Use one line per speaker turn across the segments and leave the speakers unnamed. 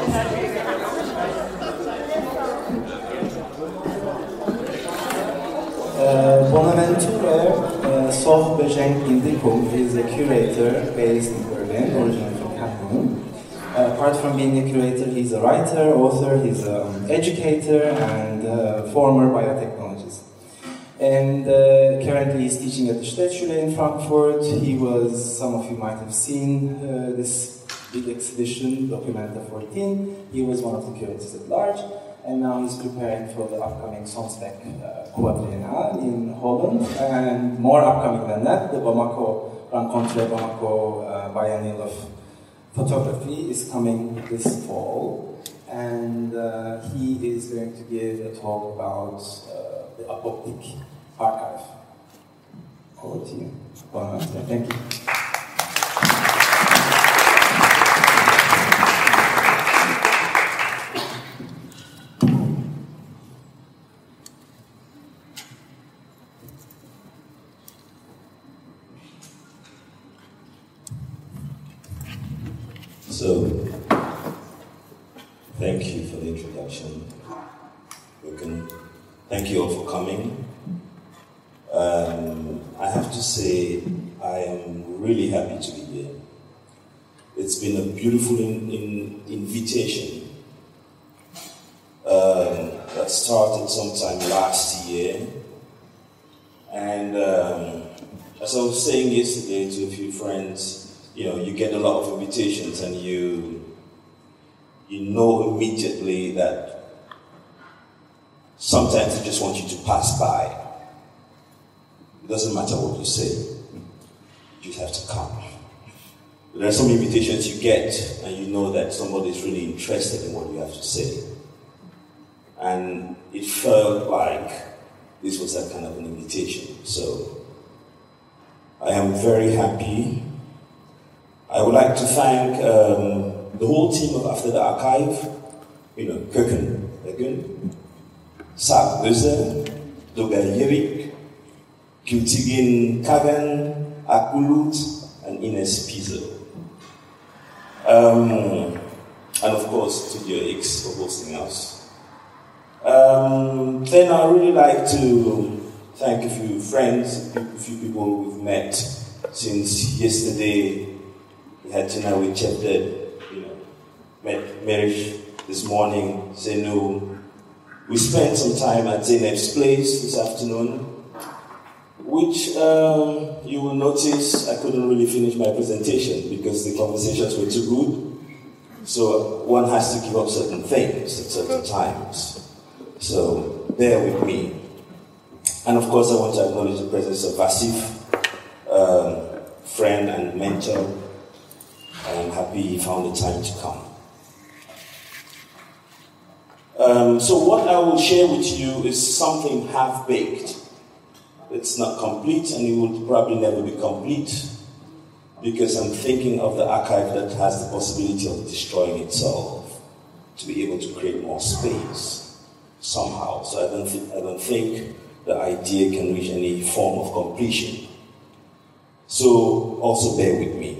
Bonaventure Soh Bejeng Indicum is a curator based in Berlin, originally from Cameroon. Apart from being a curator, he's a writer, author, he's an educator, and former biotechnologist. And currently he's teaching at the Städtschule in Frankfurt. He was, some of you might have seen this big exhibition, Documenta 14. He was one of the curators at large. And now he's preparing for the upcoming Sonsbeck Quadriennale in Holland. And more upcoming than that, the Bamako Rencontre Bamako Biennial of Photography is coming this fall. And he is going to give a talk about the Apoptic Archive. Over to you. Thank you.
So, thank you for the introduction. Thank you all for coming. I have to say, I am really happy to be here. It's been a beautiful invitation that started sometime last year. And as I was saying yesterday to a few friends, you get a lot of invitations and you know immediately that sometimes they just want you to pass by. It doesn't matter what you say, you just have to come. But there are some invitations you get and you know that somebody is really interested in what you have to say. And it felt like this was that kind of an invitation. So I am very happy. I would like to thank the whole team of After the Archive, Köken Egen, Saab Böse, Dogal Yerik, Kiltigin Kagan, Akulut, and Ines Pizzo. And of course, Studio X for hosting us. Then I really like to thank a few friends, a few people we've met since yesterday. We had dinner with Chepted, met Merish this morning, Zenu. We spent some time at Zeynep's place this afternoon, which you will notice I couldn't really finish my presentation because the conversations were too good. So one has to give up certain things at certain times. So bear with me. And of course I want to acknowledge the presence of Vasif, friend and mentor. I'm happy he found the time to come. So what I will share with you is something half-baked. It's not complete and it will probably never be complete because I'm thinking of the archive that has the possibility of destroying itself to be able to create more space somehow. So I don't think the idea can reach any form of completion. So also bear with me.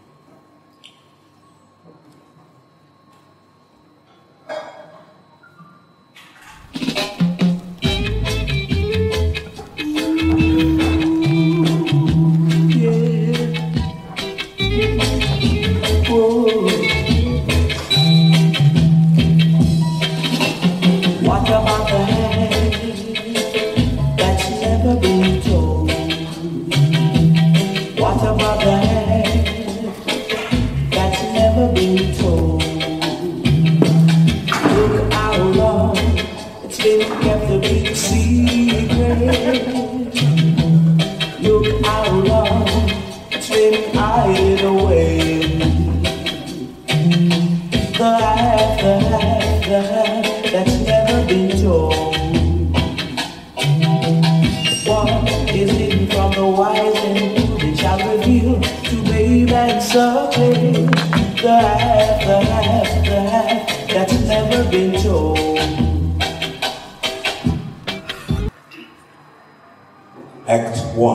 Act 1.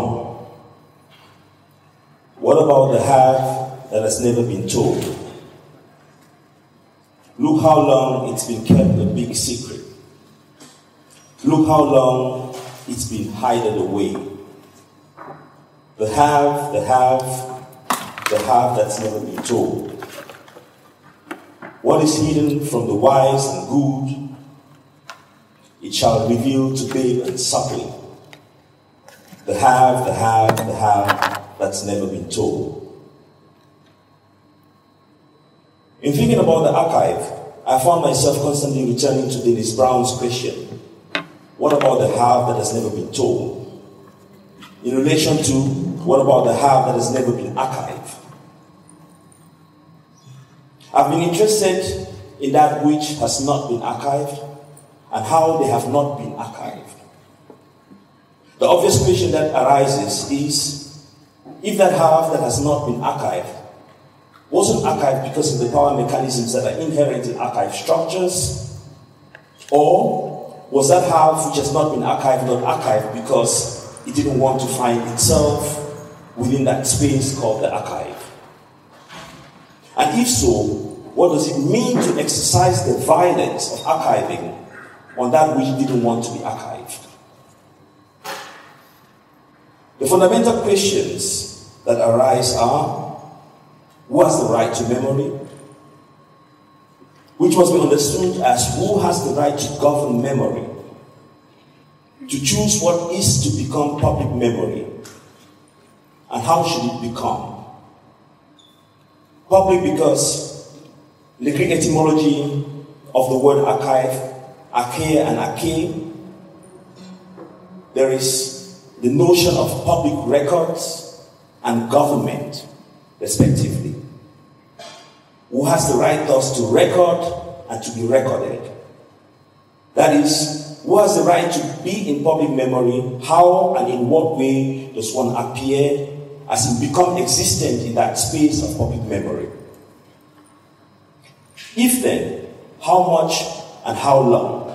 What about the half that has never been told? Look how long it's been kept a big secret. Look how long it's been hidden away. The have that's never been told. What is hidden from the wise and good, it shall reveal to babe and suckling. The have that's never been told. In thinking about the archive, I found myself constantly returning to Dennis Brown's question, what about the have that has never been told? In relation to, what about the have that has never been archived? I've been interested in that which has not been archived and how they have not been archived. The obvious question that arises is, if that have that has not been archived wasn't archived because of the power mechanisms that are inherent in archive structures, or was that have which has not been archived not archived because it didn't want to find itself within that space called the archive? And if so, what does it mean to exercise the violence of archiving on that which didn't want to be archived? The fundamental questions that arise are, who has the right to memory? Which must be understood as who has the right to govern memory, to choose what is to become public memory, and how should it become? Public because the Greek etymology of the word archive, archaea and archae, there is the notion of public records and government, respectively. Who has the right thus to record and to be recorded? That is, who has the right to be in public memory? How and in what way does one appear as in become existent in that space of public memory? If then, how much and how long?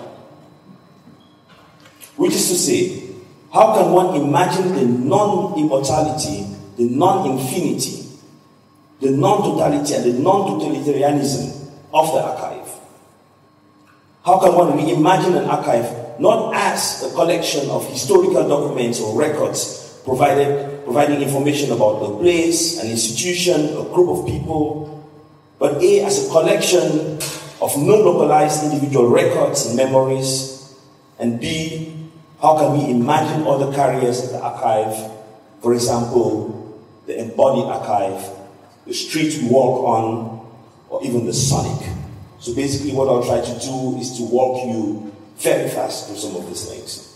Which is to say, how can one imagine the non-immortality, the non-infinity, the non-totality and the non-totalitarianism of the archive? How can one reimagine an archive not as a collection of historical documents or records providing information about a place, an institution, a group of people, but A, as a collection of non-localized individual records and memories, and B, how can we imagine other carriers of the archive, for example, the embodied archive, the street we walk on, or even the sonic. So basically what I'll try to do is to walk you very fast through some of these things.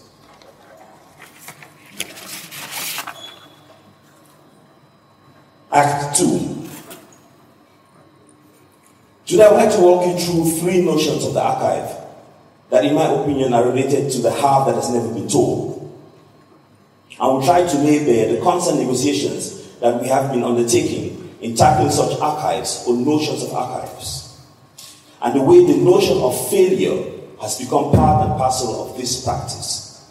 Act 2. Today I would like to walk you through three notions of the archive that in my opinion are related to the have that has never been told. I will try to lay bare the constant negotiations that we have been undertaking in tackling such archives or notions of archives, and the way the notion of failure has become part and parcel of this practice.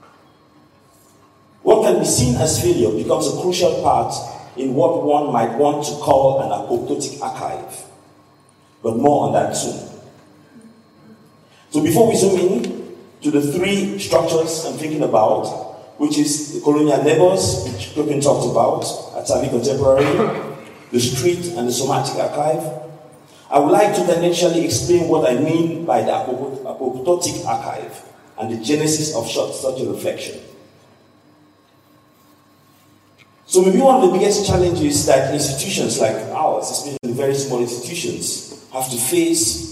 What can be seen as failure becomes a crucial part in what one might want to call an apoptotic archive, but more on that soon. So before we zoom in to the three structures I'm thinking about, which is the colonial labors, which Tokyo talked about, Atavi Contemporary, the street and the somatic archive, I would like to then initially explain what I mean by the apoptotic archive and the genesis of such a reflection. So maybe one of the biggest challenges that institutions like ours, especially very small institutions, have to face,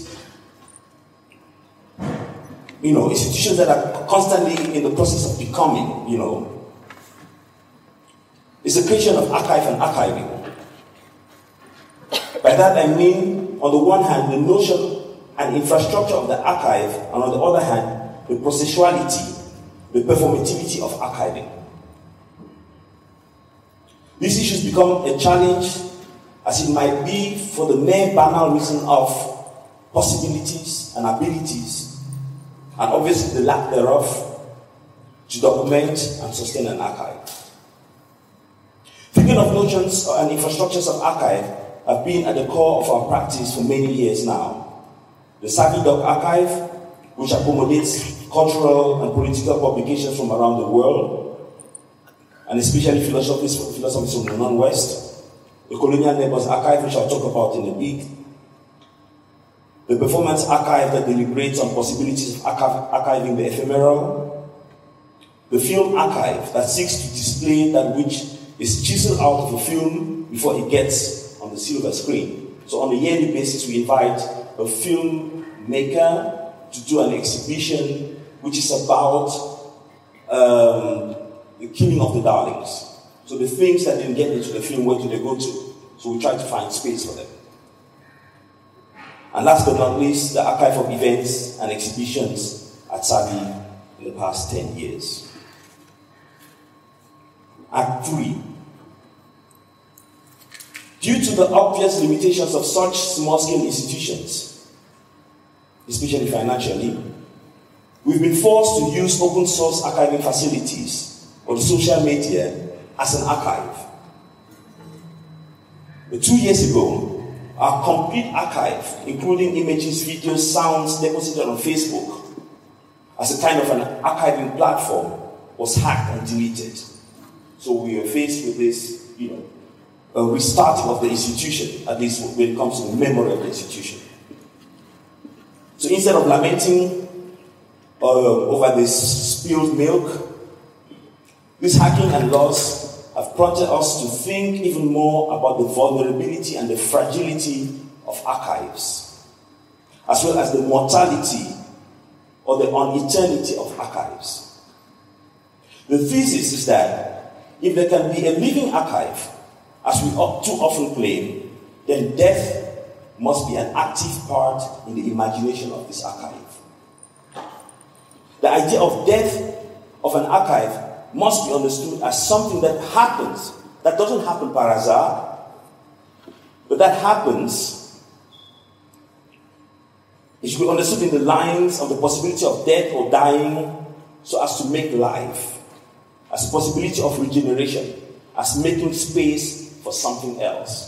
institutions that are constantly in the process of becoming, is the creation of archive and archiving. By that I mean, on the one hand, the notion and infrastructure of the archive, and on the other hand, the processuality, the performativity of archiving. These issues become a challenge as it might be for the mere banal reason of possibilities and abilities, and obviously the lack thereof, to document and sustain an archive. Thinking of notions and infrastructures of archive have been at the core of our practice for many years now. The Savvy.org archive, which accommodates cultural and political publications from around the world, and especially philosophies from the non-West. The Colonial Neighbors archive, which I'll talk about in a bit. The Performance archive that deliberates on possibilities of archiving the ephemeral. The Film archive that seeks to display that which is chiseled out of a film before it gets on the silver screen. So on a yearly basis, we invite a filmmaker to do an exhibition which is about the killing of the darlings. So the things that didn't get into the film, where do they go to? So we try to find space for them. And last but not least, the archive of events and exhibitions at Savvy in the past 10 years. Act 3. Due to the obvious limitations of such small-scale institutions, especially financially, we've been forced to use open-source archiving facilities or the social media as an archive. But 2 years ago, our complete archive, including images, videos, sounds deposited on Facebook as a kind of an archiving platform, was hacked and deleted. So we were faced with this, a restarting of the institution, at least when it comes to the memory of the institution. So instead of lamenting over this spilled milk, this hacking and loss have prompted us to think even more about the vulnerability and the fragility of archives, as well as the mortality or the uneternity of archives. The thesis is that if there can be a living archive, as we too often claim, then death must be an active part in the imagination of this archive. The idea of death of an archive must be understood as something that happens, that doesn't happen par hasard, but that happens, it should be understood in the lines of the possibility of death or dying so as to make life, as a possibility of regeneration, as making space for something else.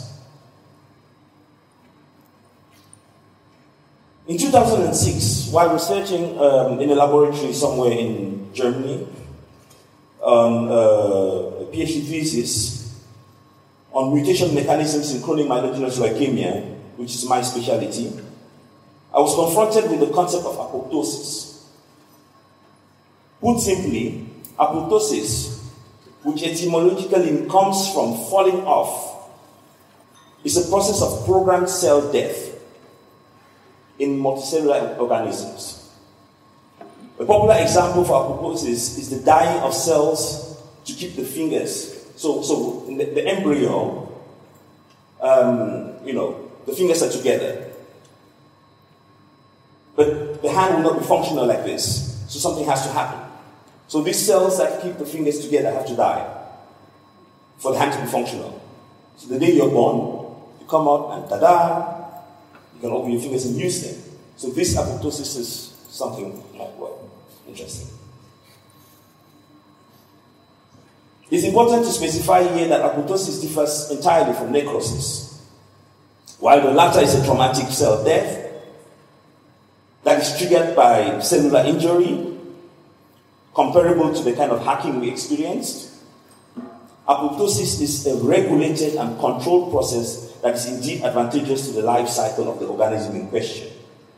In 2006, while researching in a laboratory somewhere in Germany on a PhD thesis on mutation mechanisms in chronic myelogenous leukemia, which is my specialty, I was confronted with the concept of apoptosis. Put simply, apoptosis, which etymologically comes from falling off, is a process of programmed cell death in multicellular organisms. A popular example for apoptosis is the dying of cells to keep the fingers. So in the embryo, the fingers are together. But the hand will not be functional like this. So something has to happen. So these cells that keep the fingers together have to die for the hand to be functional. So the day you're born, you come out and ta-da, you can open your fingers and use them. So this apoptosis is something interesting. It's important to specify here that apoptosis differs entirely from necrosis. While the latter is a traumatic cell death that is triggered by cellular injury, comparable to the kind of hacking we experienced, apoptosis is a regulated and controlled process that is indeed advantageous to the life cycle of the organism in question.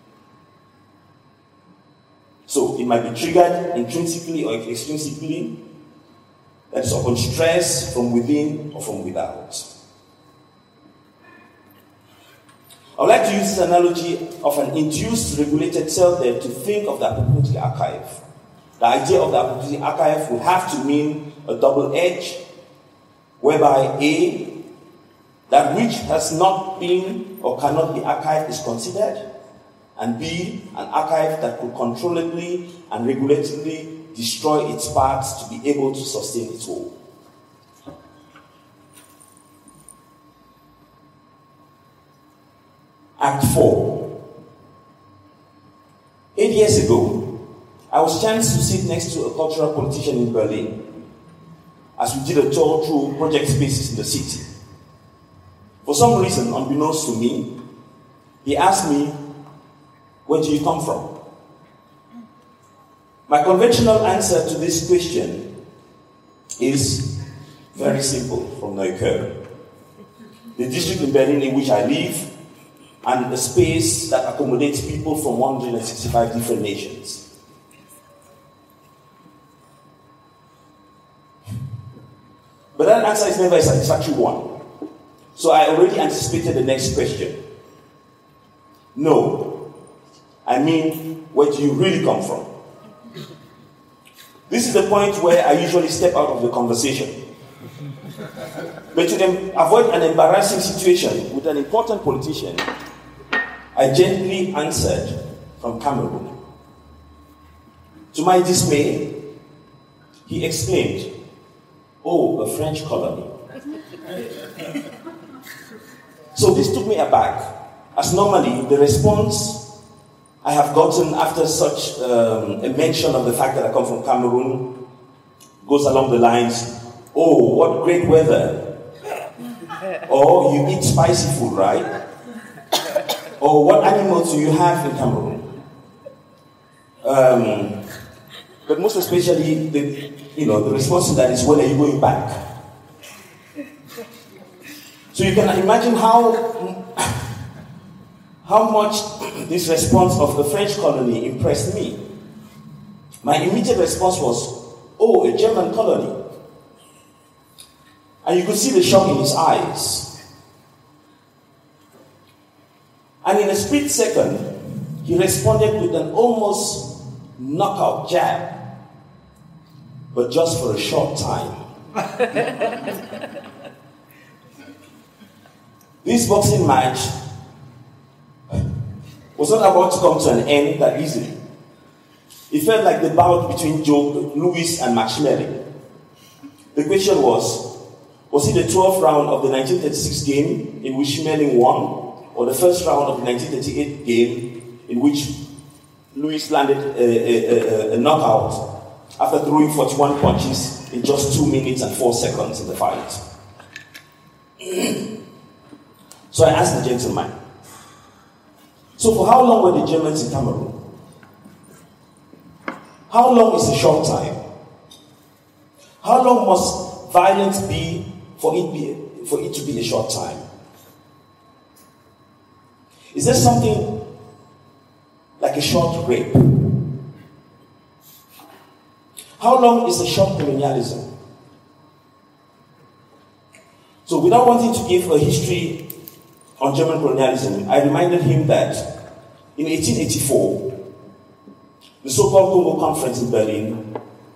So it might be triggered intrinsically or extrinsically, that is upon stress from within or from without. I would like to use this analogy of an induced regulated cell death to think of the apoptotic archive. The idea of the apoptotic archive would have to mean a double edge, whereby A, that which has not been or cannot be archived is considered, and B, an archive that could controllably and regulatively destroy its parts to be able to sustain its whole. Act 4. 8 years ago, I was chanced to sit next to a cultural politician in Berlin as we did a tour through project spaces in the city. For some reason, unbeknownst to me, he asked me, Where do you come from? My conventional answer to this question is very simple, from Neukölln. The district in Berlin in which I live, and a space that accommodates people from 165 different nations. But that answer is never a satisfactory one. So I already anticipated the next question. No. I mean, where do you really come from? This is the point where I usually step out of the conversation. But to avoid an embarrassing situation with an important politician, I gently answered from Cameroon. To my dismay, he exclaimed, "Oh, a French colony." So this took me aback, as normally the response I have gotten after such a mention of the fact that I come from Cameroon goes along the lines, "Oh, what great weather." Or, "You eat spicy food, right?" Or, "What animals do you have in Cameroon?" But most especially, the response to that is, "When are you going back?" So you can imagine how much this response of the French colony impressed me. My immediate response was, "Oh, a German colony." And you could see the shock in his eyes. And in a split second, he responded with an almost knockout jab, but just for a short time. This boxing match was not about to come to an end that easily. It felt like the bout between Louis and Max Schmeling. The question was it the 12th round of the 1936 game in which Schmeling won, or the first round of the 1938 game in which Louis landed a knockout after throwing 41 punches in just 2 minutes and 4 seconds in the fight? So I asked the gentleman, "So for how long were the Germans in Cameroon? How long is a short time? How long must violence be for it to be a short time? Is there something like a short rape? How long is a short colonialism?" So without wanting to give a history on German colonialism, I reminded him that in 1884, the so-called Congo Conference in Berlin,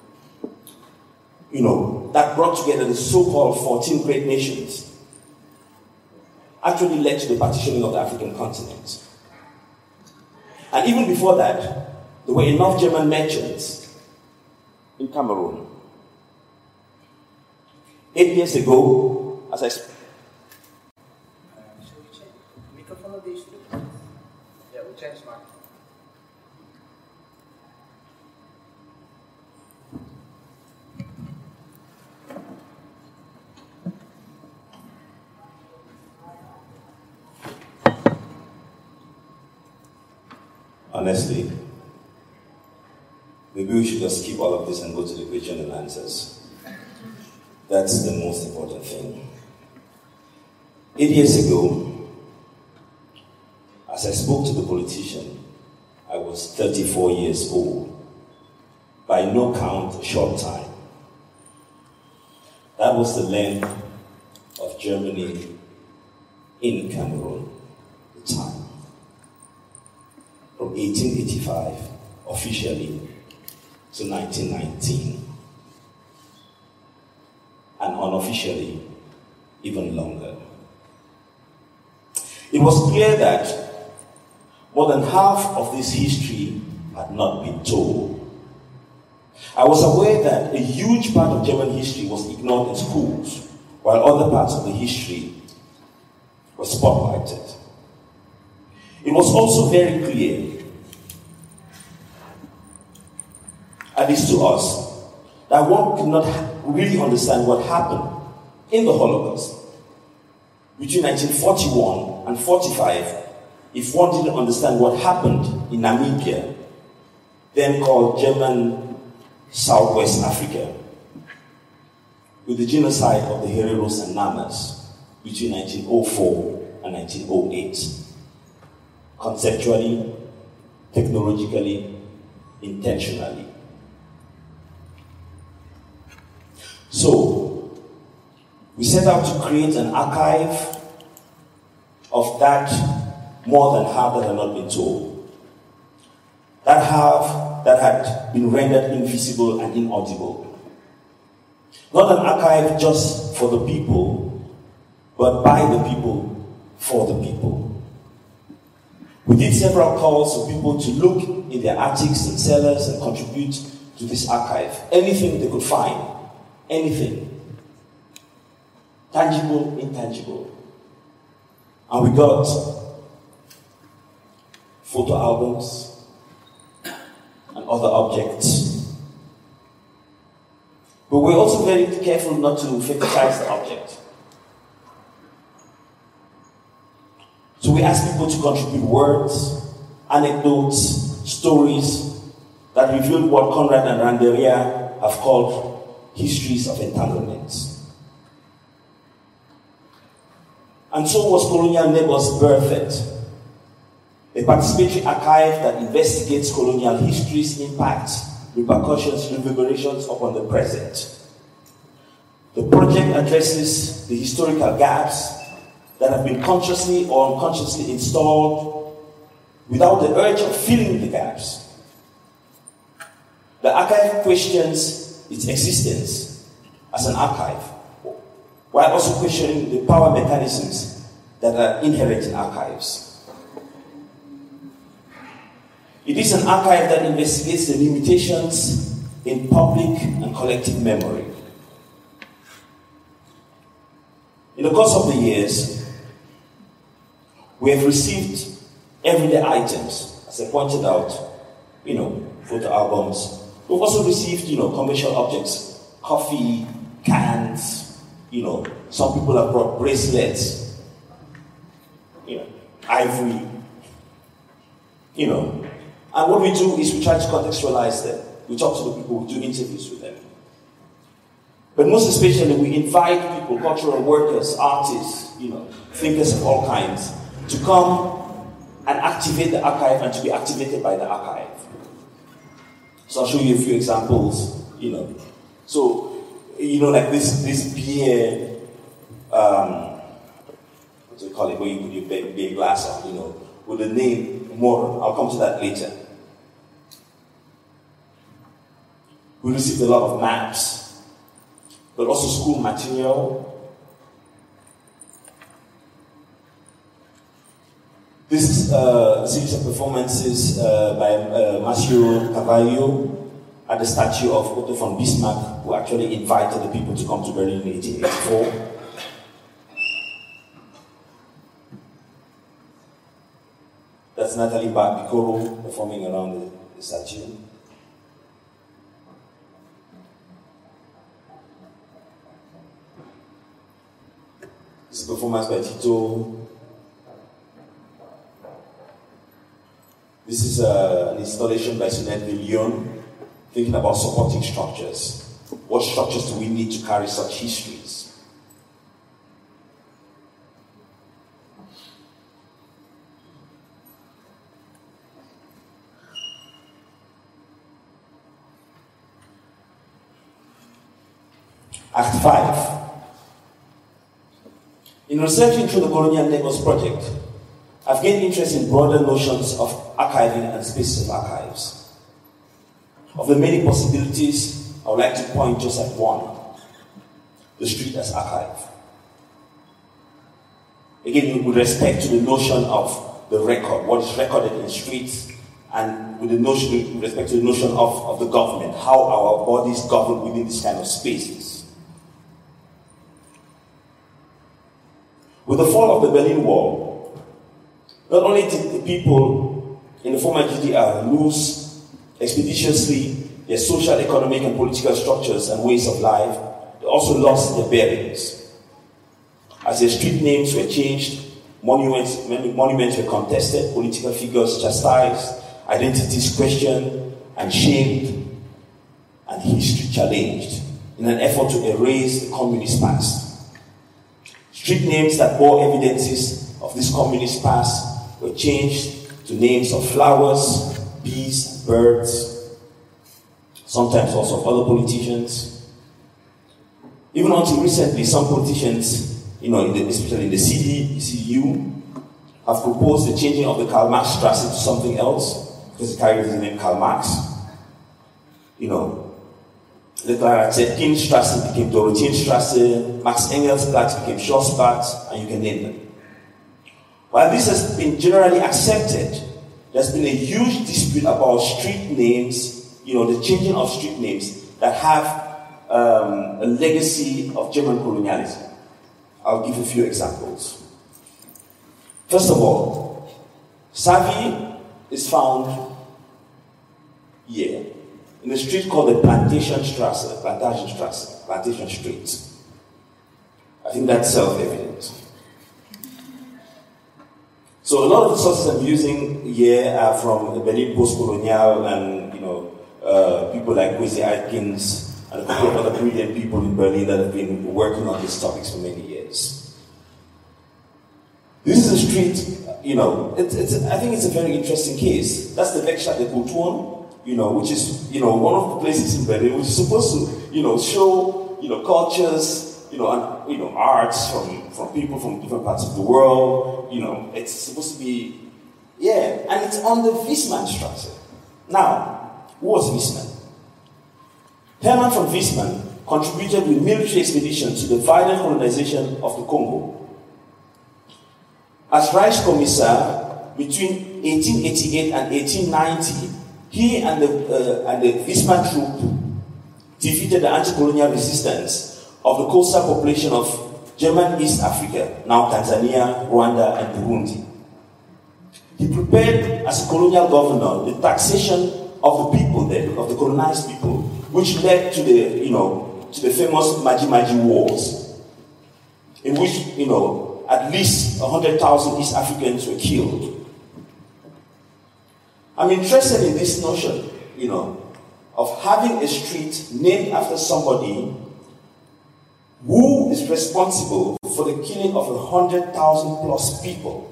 that brought together the so-called 14 great nations, actually led to the partitioning of the African continent. And even before that, there were enough German merchants in Cameroon. 8 years ago, as I honestly, maybe we should just skip all of this and go to the question and answers. That's the most important thing. 8 years ago, as I spoke to the politician, I was 34 years old. By no count, a short time. That was the length of Germany in Cameroon at the time. From 1885, officially, to 1919. And unofficially, even longer. It was clear that more than half of this history had not been told. I was aware that a huge part of German history was ignored in schools, while other parts of the history were spotlighted. It was also very clear, at least to us, that one could not really understand what happened in the Holocaust between 1941 and 1945 if one didn't understand what happened in Namibia, then called German Southwest Africa, with the genocide of the Hereros and Namas between 1904 and 1908, conceptually, technologically, intentionally. So, we set out to create an archive of that more than half that had not been told. That half that had been rendered invisible and inaudible. Not an archive just for the people, but by the people, for the people. We did several calls for people to look in their attics and cellars and contribute to this archive. Anything they could find. Anything. Tangible, intangible. And we got photo albums and other objects. But we're also very careful not to fetishize the object. So we ask people to contribute words, anecdotes, stories that reveal what Conrad and Randeria have called histories of entanglements. And so was Colonial Neighbors birthed, a participatory archive that investigates colonial history's impacts, repercussions, reverberations upon the present. The project addresses the historical gaps that have been consciously or unconsciously installed without the urge of filling the gaps. The archive questions its existence as an archive, while also questioning the power mechanisms that are inherent in archives. It is an archive that investigates the limitations in public and collective memory. In the course of the years, we have received everyday items, as I pointed out, photo albums. We've also received, commercial objects, coffee, cans, some people have brought bracelets, ivory, And what we do is we try to contextualize them. We talk to the people, we do interviews with them. But most especially, we invite people, cultural workers, artists, thinkers of all kinds, to come and activate the archive and to be activated by the archive. So I'll show you a few examples, So, like this beer, what do you call it, where you put your beer glass on, with the name Moron. I'll come to that later. We received a lot of maps, but also school material. This is a series of performances by Massimo Carvalho at the statue of Otto von Bismarck, who actually invited the people to come to Berlin in 1884. That's Natalie Bicoro performing around the statue. This is a performance by Tito. This is an installation by Sunette Villion, thinking about supporting structures. What structures do we need to carry such histories? Act 5. In researching through the Colonial Neighbors Project, I've gained interest in broader notions of archiving and spaces of archives. Of the many possibilities, I would like to point just at one: the street as archive. Again, with respect to the notion of the record, what is recorded in streets, and with respect to the notion of the government, how our bodies govern within this kind of spaces. With the fall of the Berlin Wall, not only did the people in the former GDR lose expeditiously their social, economic, and political structures and ways of life, they also lost their bearings. As their street names were changed, Monuments were contested, political figures chastised, identities questioned and shamed, and history challenged in an effort to erase the communist past. Street names that bore evidences of this communist past were changed to names of flowers, bees, birds, sometimes also of other politicians. Even until recently, some politicians, especially in the CDU, have proposed the changing of the Karl Marx Strasse to something else, because it carries the name Karl Marx. The Clara Zetkin Strasse became Dorotheen Strasse, Max Engels Platz became Schlossplatzl, and you can name them. While this has been generally accepted, there's been a huge dispute about street names, the changing of street names that have a legacy of German colonialism. I'll give a few examples. First of all, Savy is found here in a street called the Plantation Street. I think that's self-evident. So a lot of the sources I'm using here are from the Berlin Post-Colonial and people like Kwesi Atkins and a couple of other brilliant people in Berlin that have been working on these topics for many years. This is a street, I think it's a very interesting case. That's the Werkstatt der Kulturen, which is, one of the places in Berlin which is supposed to, show, cultures, and, arts from people from different parts of the world. It's supposed to be, and it's on the Wiesmannstrasse. Now, who was Wiesmann? Hermann von Wiesmann contributed with military expeditions to the violent colonization of the Congo. As Reichskommissar between 1888 and 1890, he and the Wiesmann troop defeated the anti-colonial resistance of the coastal population of German East Africa, now Tanzania, Rwanda, and Burundi. He prepared, as a colonial governor, the taxation of the people there, of the colonized people, which led to the famous Maji-Maji Wars, in which, at least 100,000 East Africans were killed. I'm interested in this notion, of having a street named after somebody who is responsible for the killing of 100,000 plus people.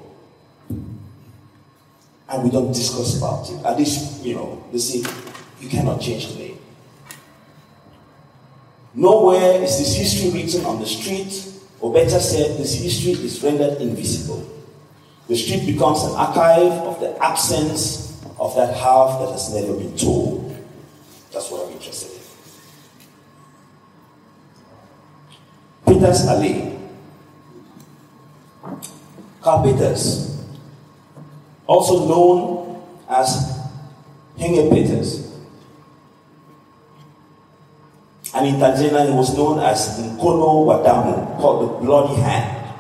And we don't discuss about it. At least, they say, you cannot change the name. Nowhere is this history written on the street, or better said, this history is rendered invisible. The street becomes an archive of the absence of that half that has never been told. That's what I'm interested in. Peters Alley. Karl Peters, also known as Henge Peters. And in Tanzania, he was known as Mkono wa Damu, called the Bloody Hand.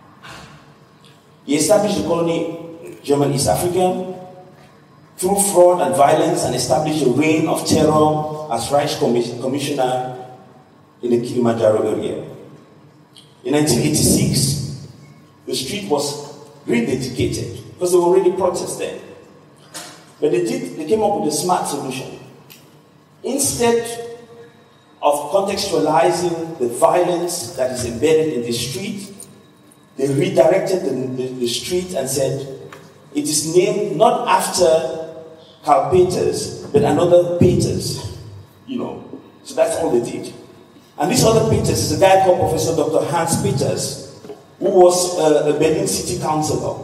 He established the colony German East Africa through fraud and violence and established a reign of terror as Reich Commissioner in the Kilimanjaro area. In 1986, the street was rededicated because there were already protests then. But they came up with a smart solution. Instead of contextualizing the violence that is embedded in the street, they redirected the street and said, it is named not after Karl Peters, but another Peters. So that's all they did. And this other Peters is a guy called Professor Dr. Hans Peters, who was a Berlin city councillor.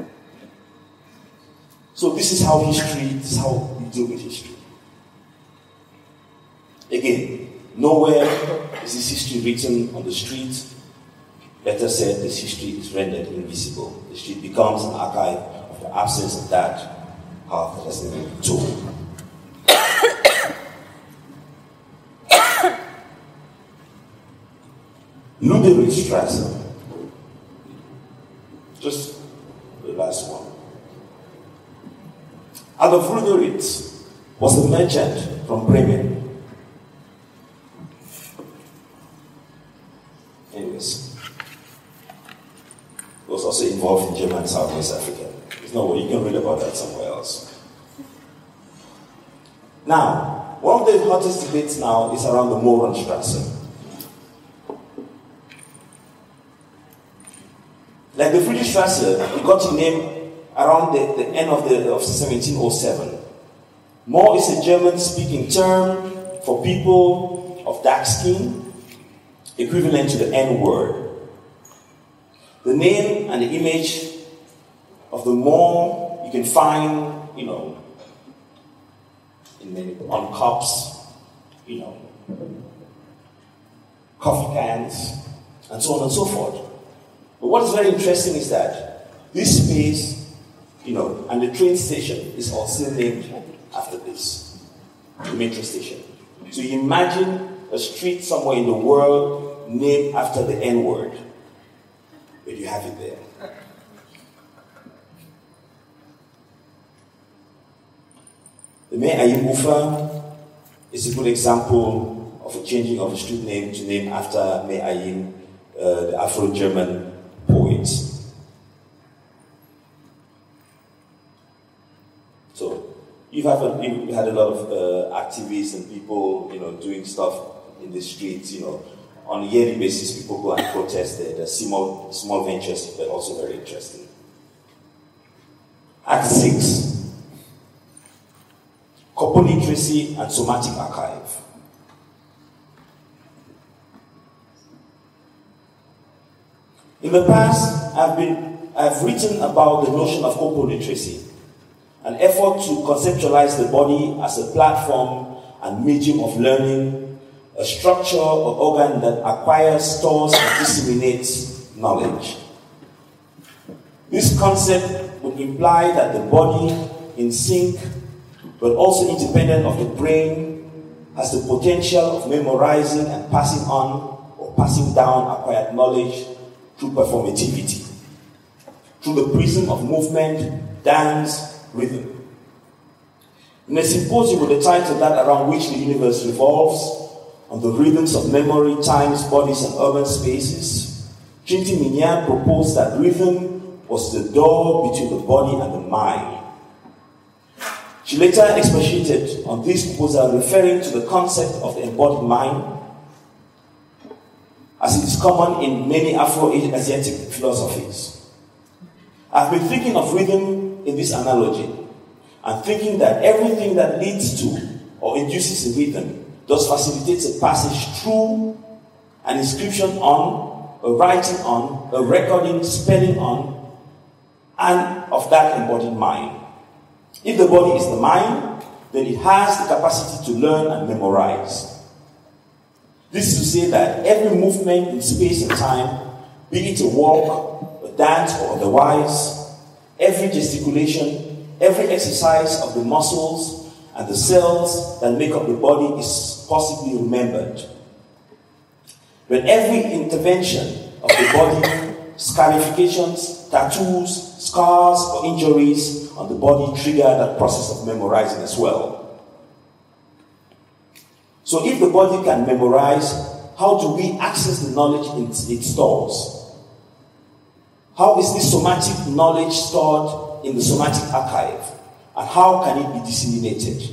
So this is how this is how we deal with history. Again, nowhere is this history written on the street. Better said, this history is rendered invisible. The street becomes an archive of the absence of that half that has never been told. Luderichstrasse. Just the last one. Adolf Luderitz was a merchant from Bremen. Anyways, he was also involved in can read about that somewhere else. Now, one of the hottest debates now is around the Mohrenstrasse. Like the Friedrichstrasse, it got its name around the end of 1707. Mohr is a German-speaking term for people of dark skin, equivalent to the N-word. The name and the image of the Mohr you can find, on cups, coffee cans, and so on and so forth. But what is very interesting is that this space, and the train station is also named after this, the metro station. So you imagine a street somewhere in the world named after the N-word, but you have it there. The Meir Hayim Ufer is a good example of a changing of a street name to name after Meir Hayim, the Afro-German poet. So you had a lot of activists and people, doing stuff in the streets. On a yearly basis, people go and protest. The small ventures, but also very interesting. Act 6. Corpus Literacy and Somatic Archive. In the past, I've written about the notion of corpus literacy, an effort to conceptualize the body as a platform and medium of learning, a structure or organ that acquires, stores, and disseminates knowledge. This concept would imply that the body, in sync, but also independent of the brain, has the potential of memorizing and passing on or passing down acquired knowledge through performativity, through the prism of movement, dance, rhythm. In a symposium with the title That Around Which the Universe Revolves, on the rhythms of memory, times, bodies, and urban spaces, Trinity Minyan proposed that rhythm was the door between the body and the mind. She later expatiated on this proposal, referring to the concept of the embodied mind, as it is common in many Afro-Asiatic philosophies. I've been thinking of rhythm in this analogy, and thinking that everything that leads to or induces a rhythm thus facilitates a passage through, an inscription on, a writing on, a recording, spelling on, and of that embodied mind. If the body is the mind, then it has the capacity to learn and memorize. This is to say that every movement in space and time, be it a walk, a dance, or otherwise, every gesticulation, every exercise of the muscles and the cells that make up the body is possibly remembered. But every intervention of the body, scarifications, tattoos, scars, or injuries on the body trigger that process of memorizing as well. So if the body can memorize, how do we access the knowledge it stores? How is this somatic knowledge stored in the somatic archive? And how can it be disseminated?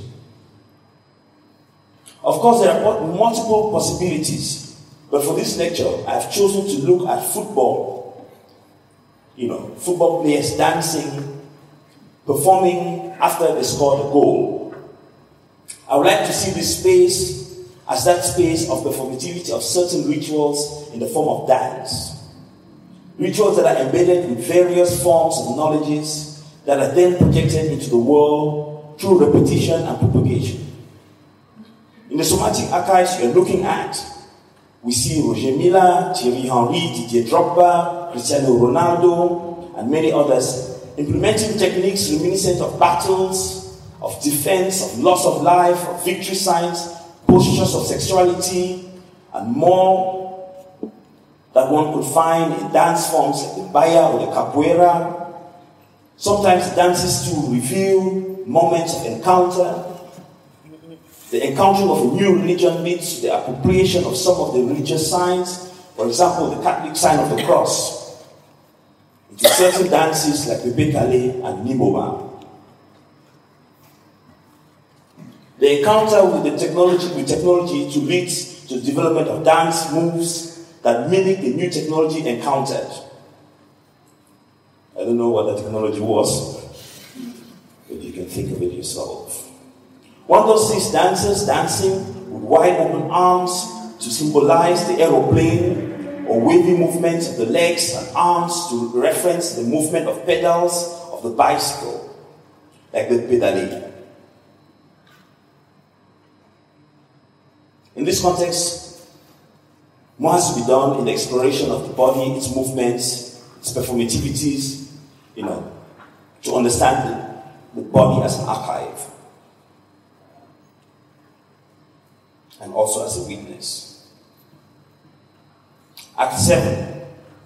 Of course, there are multiple possibilities, but for this lecture, I've chosen to look at football. Football players dancing, performing after they scored a goal. I would like to see this space as that space of performativity of certain rituals in the form of dance. Rituals that are embedded with various forms of knowledges that are then projected into the world through repetition and propagation. In the somatic archives you're looking at, we see Roger Milla, Thierry Henry, Didier Drogba, Cristiano Ronaldo, and many others implementing techniques reminiscent of battles, of defense, of loss of life, of victory signs, postures of sexuality, and more that one could find in dance forms like the Baya or the Capoeira. Sometimes dances to reveal moments of encounter. The encountering of a new religion leads to the appropriation of some of the religious signs, for example, the Catholic sign of the cross. into certain dances like Pepe Kale and Nimoma. The encounter with technology to lead to the development of dance moves that mimic the new technology encountered. I don't know what the technology was, but you can think of it yourself. One does see dancers dancing with wide open arms to symbolize the aeroplane, or wavy movements of the legs and arms to reference the movement of pedals of the bicycle, like the pedale. In this context, more has to be done in the exploration of the body, its movements, its performativities, to understand the body as an archive and also as a witness. Act 7.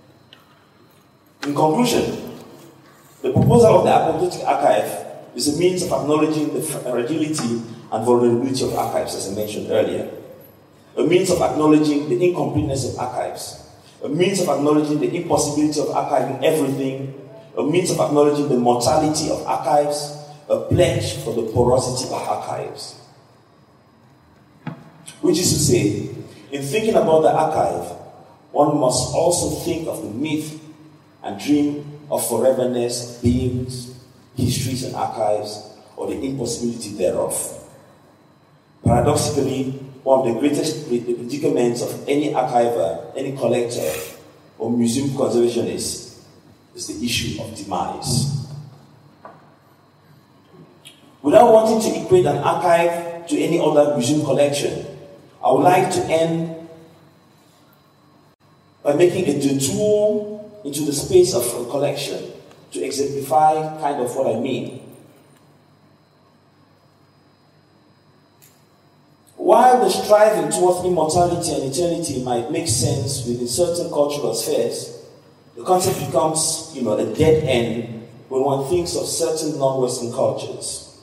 In conclusion, the proposal of the apoptotic archive is a means of acknowledging the fragility and vulnerability of archives, as I mentioned earlier. A means of acknowledging the incompleteness of archives. A means of acknowledging the impossibility of archiving everything. A means of acknowledging the mortality of archives. A pledge for the porosity of archives. Which is to say, in thinking about the archive, one must also think of the myth and dream of foreverness, beings, histories and archives, or the impossibility thereof. Paradoxically, one of the greatest predicaments of any archiver, any collector, or museum conservationist is the issue of demise. Without wanting to equate an archive to any other museum collection, I would like to end by making a detour into the space of a collection to exemplify kind of what I mean. While the striving towards immortality and eternity might make sense within certain cultural spheres, the concept becomes, a dead end when one thinks of certain non-Western cultures.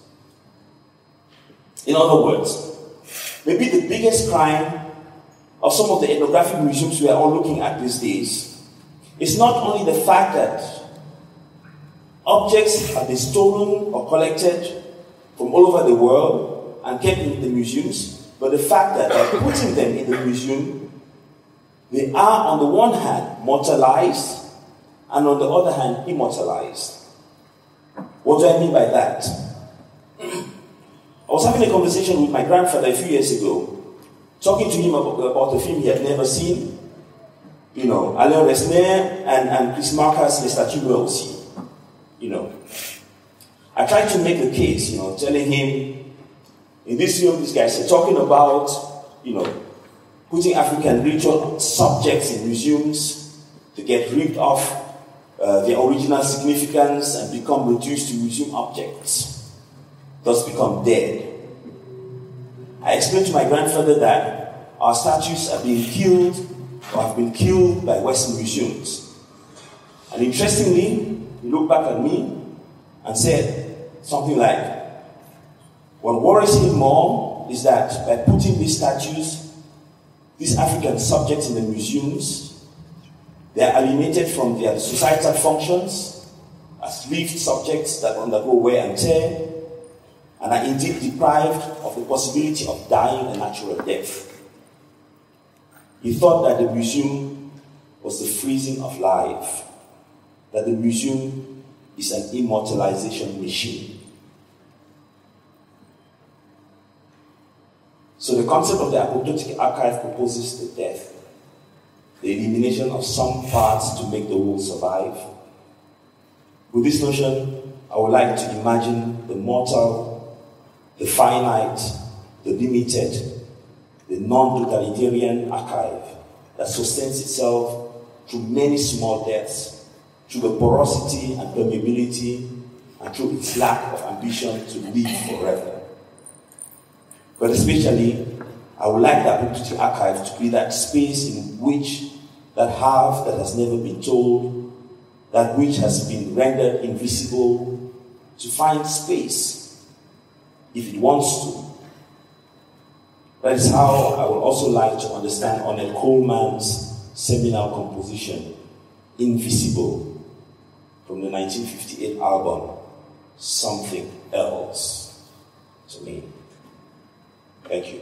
In other words, maybe the biggest crime of some of the ethnographic museums we are all looking at these days is not only the fact that objects have been stolen or collected from all over the world and kept in the museums, but the fact that by putting them in the museum, they are on the one hand mortalized and on the other hand immortalized. What do I mean by that? I was having a conversation with my grandfather a few years ago, talking to him about a film he had never seen. Alain Resnais and Chris Marker's Les Statues aussi. I tried to make the case, telling him, in this film, these guys are talking about, putting African ritual subjects in museums to get rid of their original significance and become reduced to museum objects, thus become dead. I explained to my grandfather that our statues are being killed or have been killed by Western museums. And interestingly, he looked back at me and said something like, what worries him more is that by putting these statues, these African subjects in the museums, they are alienated from their societal functions as lived subjects that undergo wear and tear, and are indeed deprived of the possibility of dying a natural death. He thought that the museum was the freezing of life, that the museum is an immortalization machine. So the concept of the apoptotic archive proposes the death, the elimination of some parts to make the whole survive. With this notion, I would like to imagine the mortal, the finite, the limited, the non-totalitarian archive that sustains itself through many small deaths, through the porosity and permeability, and through its lack of ambition to live forever. But especially, I would like the apoptotic archive to be that space in which that half that has never been told, that which has been rendered invisible, to find space, if it wants to. That is how I would also like to understand Ornette Coleman's seminal composition, Invisible. from the 1958 album, Something Else, to me. Thank you.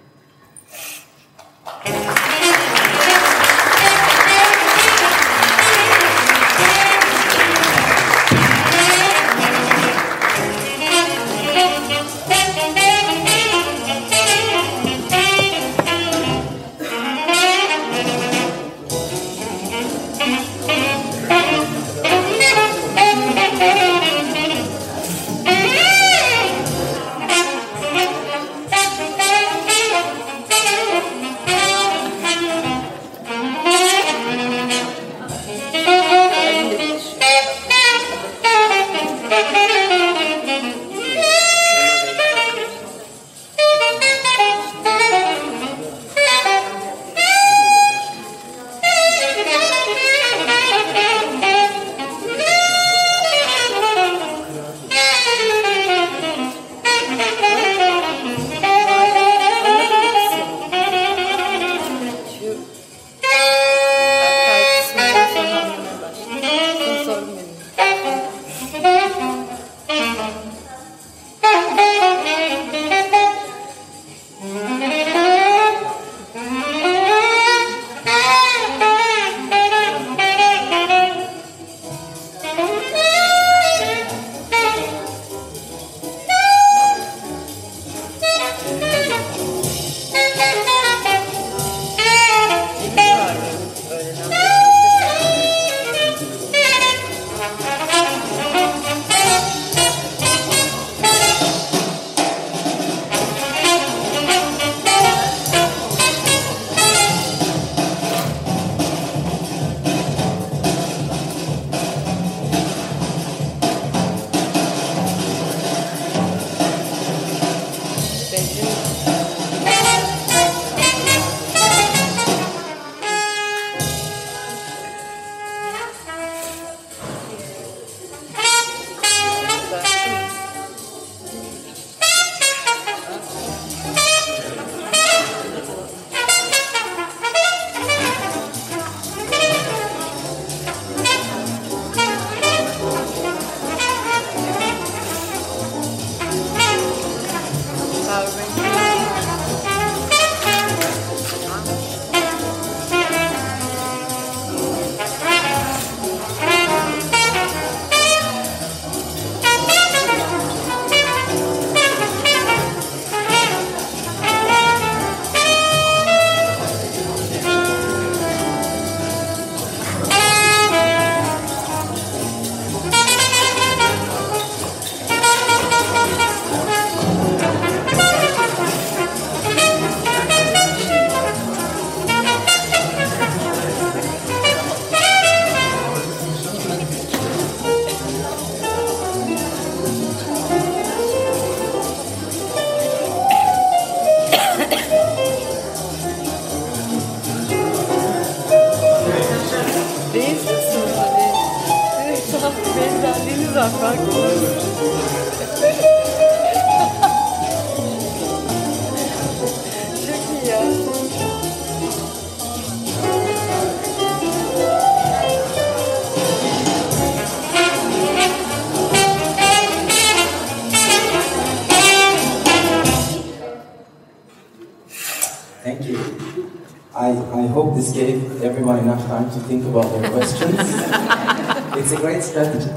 I hope this gave everyone enough time to think about their questions. It's a great strategy.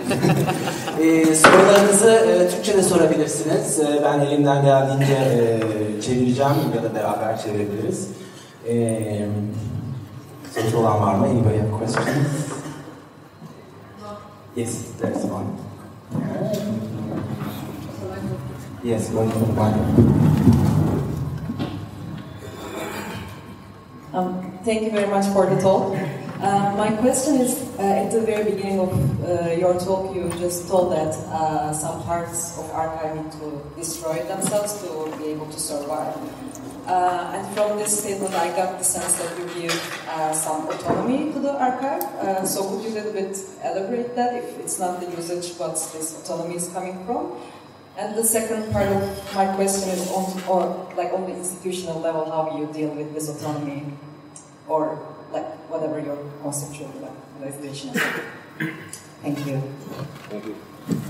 Sorularınızı Türkçe'de sorabilirsiniz. Ben elimden geldiğince çevireceğim ya da beraber çevirebiliriz. Sorusu olan var mı? Anybody have questions? Yes, there's one. Yes, one for one.
Thank you very much for the talk. My question is, at the very beginning of your talk, you just told that some parts of archive need to destroy themselves to be able to survive. And from this statement, I got the sense that you give some autonomy to the archive. So could you a little bit elaborate that? If it's not the usage, what this autonomy is coming from? And the second part of my question is on the institutional level, how you deal with this autonomy, or like whatever your conceptual realization is. Thank you.
Thank you.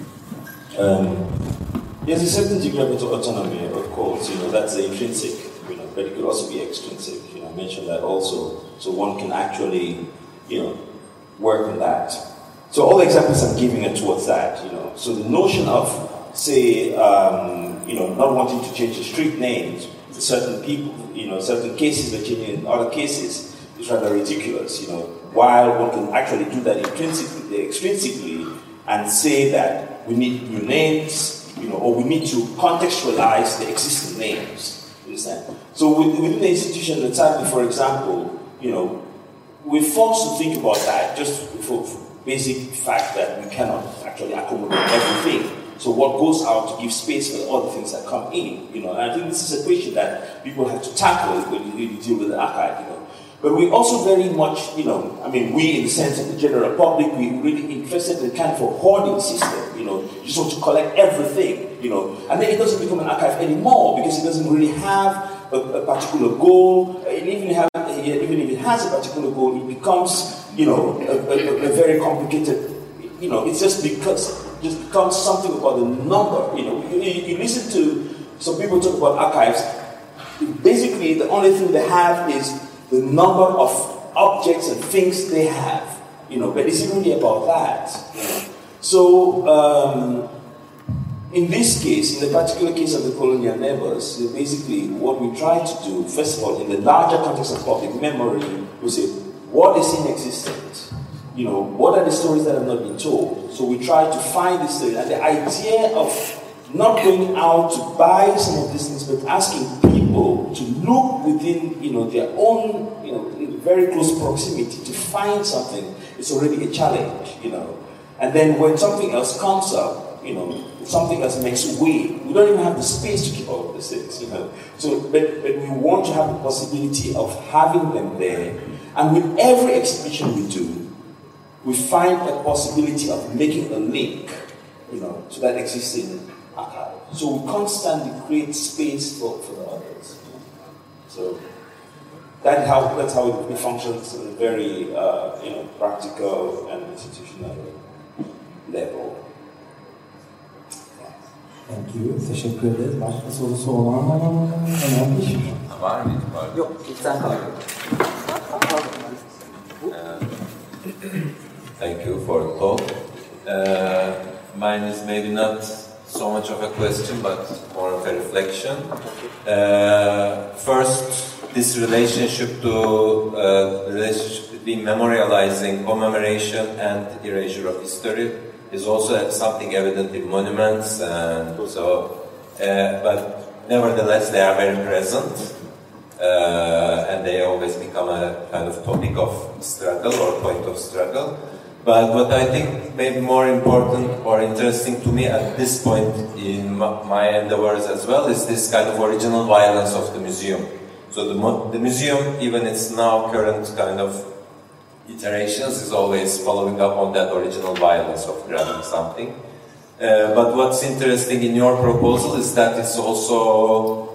There's a certain degree of autonomy, of course, that's the intrinsic, but it could also be extrinsic, I mentioned that also. So one can actually, work on that. So all the examples I'm giving are towards that, So the notion of, say, not wanting to change the street names for certain people, certain cases they're changing in other cases is rather ridiculous, while one can actually do that extrinsically and say that we need new names, or we need to contextualize the existing names. You understand? So within the institution, the time, for example, we're forced to think about that just for basic fact that we cannot actually accommodate everything. So what goes out to give space for the other things that come in? And I think this is a question that people have to tackle when you really deal with the archive. But we also very much, we in the sense of the general public, we're really interested in kind of a hoarding system, you just want to collect everything, and then it doesn't become an archive anymore because it doesn't really have a particular goal, and even if it has a particular goal, it becomes, a very complicated, it's just becomes something about the number, you listen to some people talk about archives, basically the only thing they have is the number of objects and things they have, but it's really about that. So, in this case, in the particular case of the colonial neighbors, basically what we try to do, first of all, in the larger context of public memory, we say, what is inexistent? What are the stories that have not been told? So we try to find this story, and the idea of not going out to buy some of these things, but asking people to look within, their own, very close proximity to find something is already a challenge, And then when something else comes up, something else makes way, we don't even have the space to keep all of these things, So, but we want to have the possibility of having them there, and with every exhibition we do, we find a possibility of making a link, to that existing archive. So we constantly create space for the others. So that's how it functions at a very practical and institutional level.
Thank you. Teşekkür ederiz. Başka sorusu olan var mı? Önemli.
Var mı?
Yok, sen kal.
Thank you for the talk. Mine is maybe not so much of a question, but more of a reflection. First, this relationship between memorializing, commemoration, and erasure of history is also something evident in monuments, and so. But nevertheless, they are very present, and they always become a kind of topic of struggle or point of struggle. But what I think may be more important or interesting to me at this point in my endeavors as well is this kind of original violence of the museum. So the museum, even its now current kind of iterations, is always following up on that original violence of grabbing something. But what's interesting in your proposal is that it's also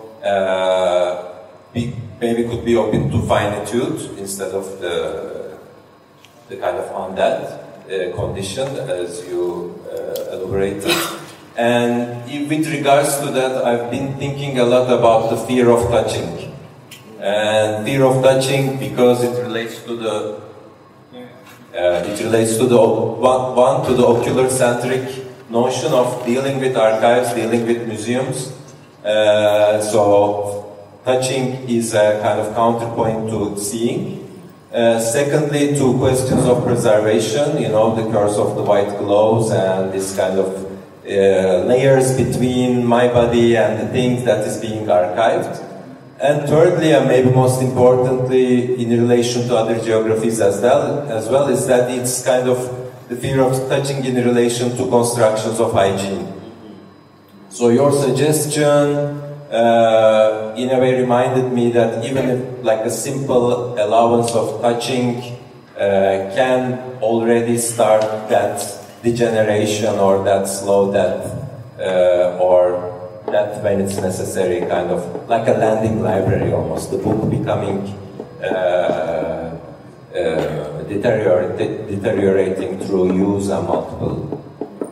maybe could be open to finitude instead of the kind of on that condition as you elaborated. And with regards to that, I've been thinking a lot about the fear of touching. And fear of touching because it relates to the ocular-centric notion of dealing with archives, dealing with museums. So touching is a kind of counterpoint to seeing. Secondly, to questions of preservation, the curse of the white gloves and this kind of layers between my body and the thing that is being archived. And thirdly, and maybe most importantly, in relation to other geographies as well, is that it's kind of the fear of touching in relation to constructions of hygiene. So your suggestion in a way reminded me that even if like a simple allowance of touching can already start that degeneration or that slow death or death when it's necessary, kind of like a landing library almost, the book becoming deteriorating through use and multiple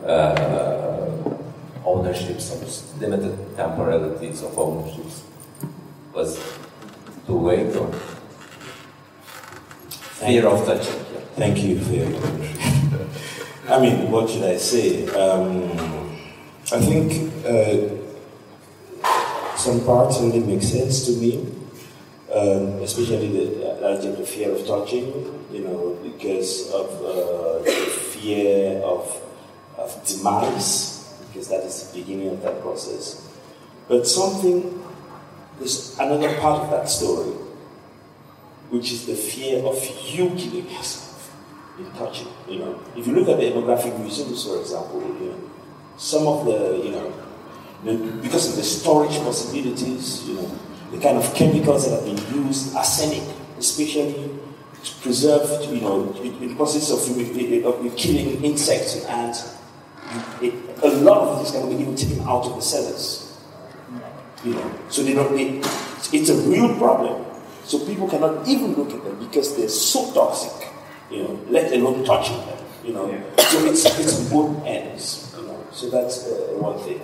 ownerships or limited temporalities of ownerships. Was too vague or fear of touching?
Thank you for your commentary. I mean, what should I say? I think some parts really make sense to me, especially the fear of touching, because of the fear of demise, because that is the beginning of that process. But there's another part of that story, which is the fear of you killing yourself in touching. If you look at the ethnographic museums, for example, some of because of the storage possibilities, the kind of chemicals that have been used, arsenic especially, preserved, in the process of killing insects and ants, a lot of this can be even taken out of the cellars. So it's a real problem. So people cannot even look at them because they're so toxic, let alone touching them, So it's on both ends, So that's one thing.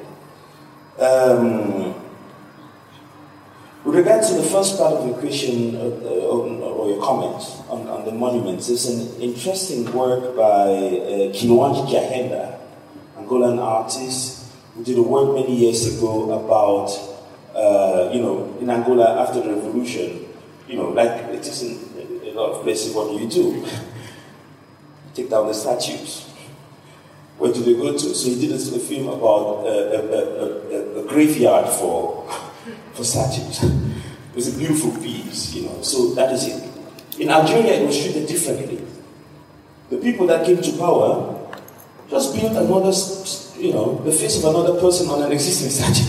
With regard to the first part of your question or your comment on the monuments, there's an interesting work by Kinwanji Jahenda, Angolan artist, who did a work many years ago about, in Angola after the revolution, like it is in a lot of places, what do? Take down the statues. Where do they go to? So he did a film about a graveyard for statues. It was a beautiful piece, So that is it. In Algeria, it was treated differently. The people that came to power just built another, the face of another person on an existing statue.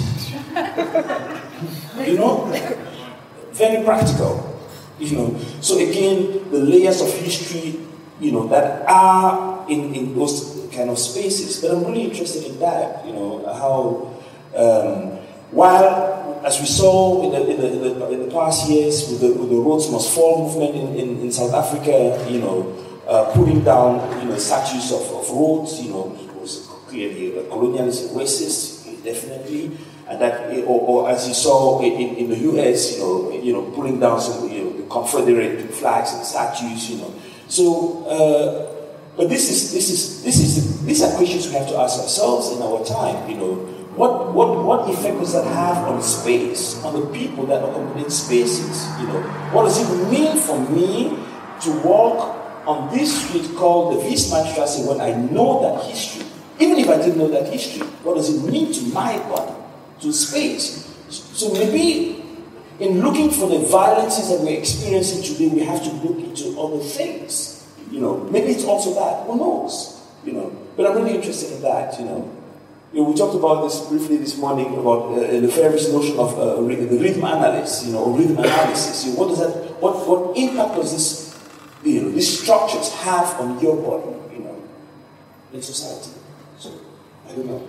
Very practical. So again, the layers of history, that are in those kind of spaces. But I'm really interested in that, how while, as we saw in the past years with the Rhodes Must Fall movement in South Africa, putting down statues of Rhodes, was clearly a colonialist racist, definitely, and that, or as you saw in the US, pulling down some the Confederate flags and statues, So, but these are questions we have to ask ourselves in our time. What effect does that have on space, on the people that occupy spaces? What does it mean for me to walk on this street called the Wiesmannstrasse when I know that history? Even if I didn't know that history, what does it mean to my body, to space? So maybe in looking for the violences that we're experiencing today, we have to look into other things. Maybe it's also that. Who knows? But I'm really interested in that. We talked about this briefly this morning about Lefebvre's notion of the rhythm analysis, or rhythm analysis. What does that? What impact does this, these structures have on your body, in society? So I don't know.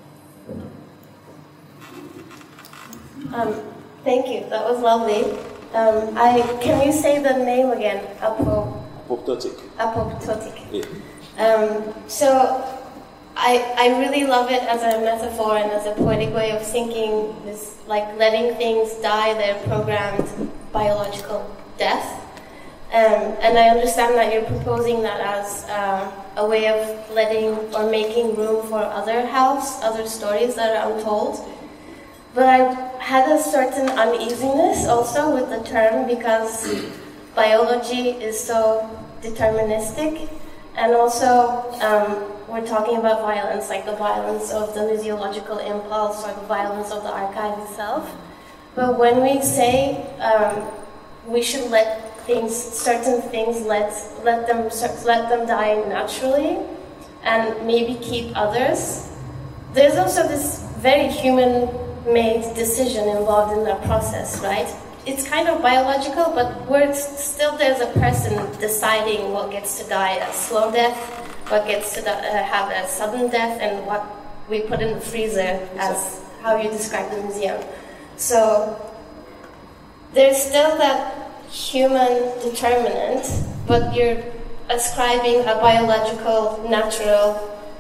Thank you. That was lovely. Can you say the name again?
Apoptotic.
Yeah. So I really love it as a metaphor and as a poetic way of thinking this, like letting things die their programmed biological death. And I understand that you're proposing that as a way of letting or making room for other stories that are untold. But I had a certain uneasiness also with the term because biology is so deterministic, and also we're talking about violence, like the violence of the museological impulse or the violence of the archive itself. But when we say we should let certain things, let them die naturally, and maybe keep others, there's also this very human-made decision involved in that process, right? It's kind of biological, but there's a person deciding what gets to die a slow death, what gets to have a sudden death, and what we put in the freezer as how you describe the museum. So there's still that human determinant, but you're ascribing a biological, natural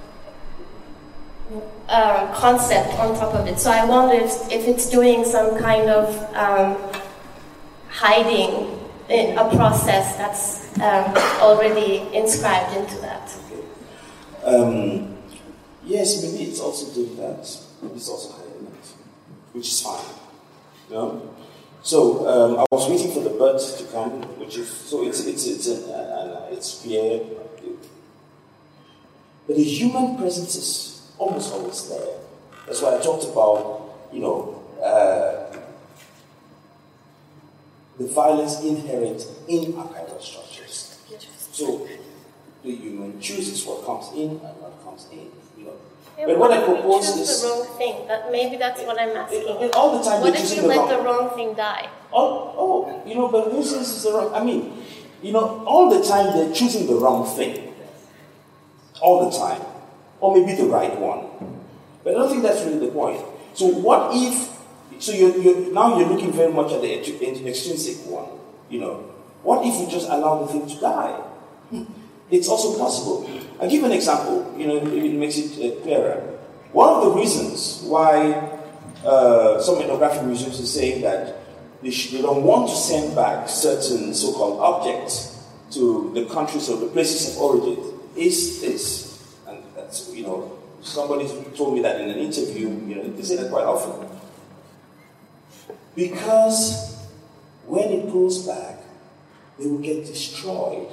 concept on top of it. So I wonder if it's doing some kind of hiding in a process that's already inscribed into that.
Okay. Yes, maybe it's also doing that. It's also hiding it, which is fine. You know? So I was waiting for the bird to come, which is so it's clear. But the human presence is almost always there. That's why I talked about, the violence inherent in archival structures. So the human chooses what comes in and what comes in.
Yeah,
but what I propose is
the wrong thing. Maybe that's what I'm asking.
All the time.
What if you let the wrong thing die?
But who says it's the wrong? I mean, all the time they're choosing the wrong thing. All the time, or maybe the right one. But I don't think that's really the point. So what if? So you're looking very much at the extrinsic one. What if you just allow the thing to die? It's also possible. I'll give an example, it makes it clearer. One of the reasons why some ethnographic museums are saying that they don't want to send back certain so-called objects to the countries or the places of origin is this. And that's, somebody told me that in an interview, they say that quite often. Because when it goes back, they will get destroyed.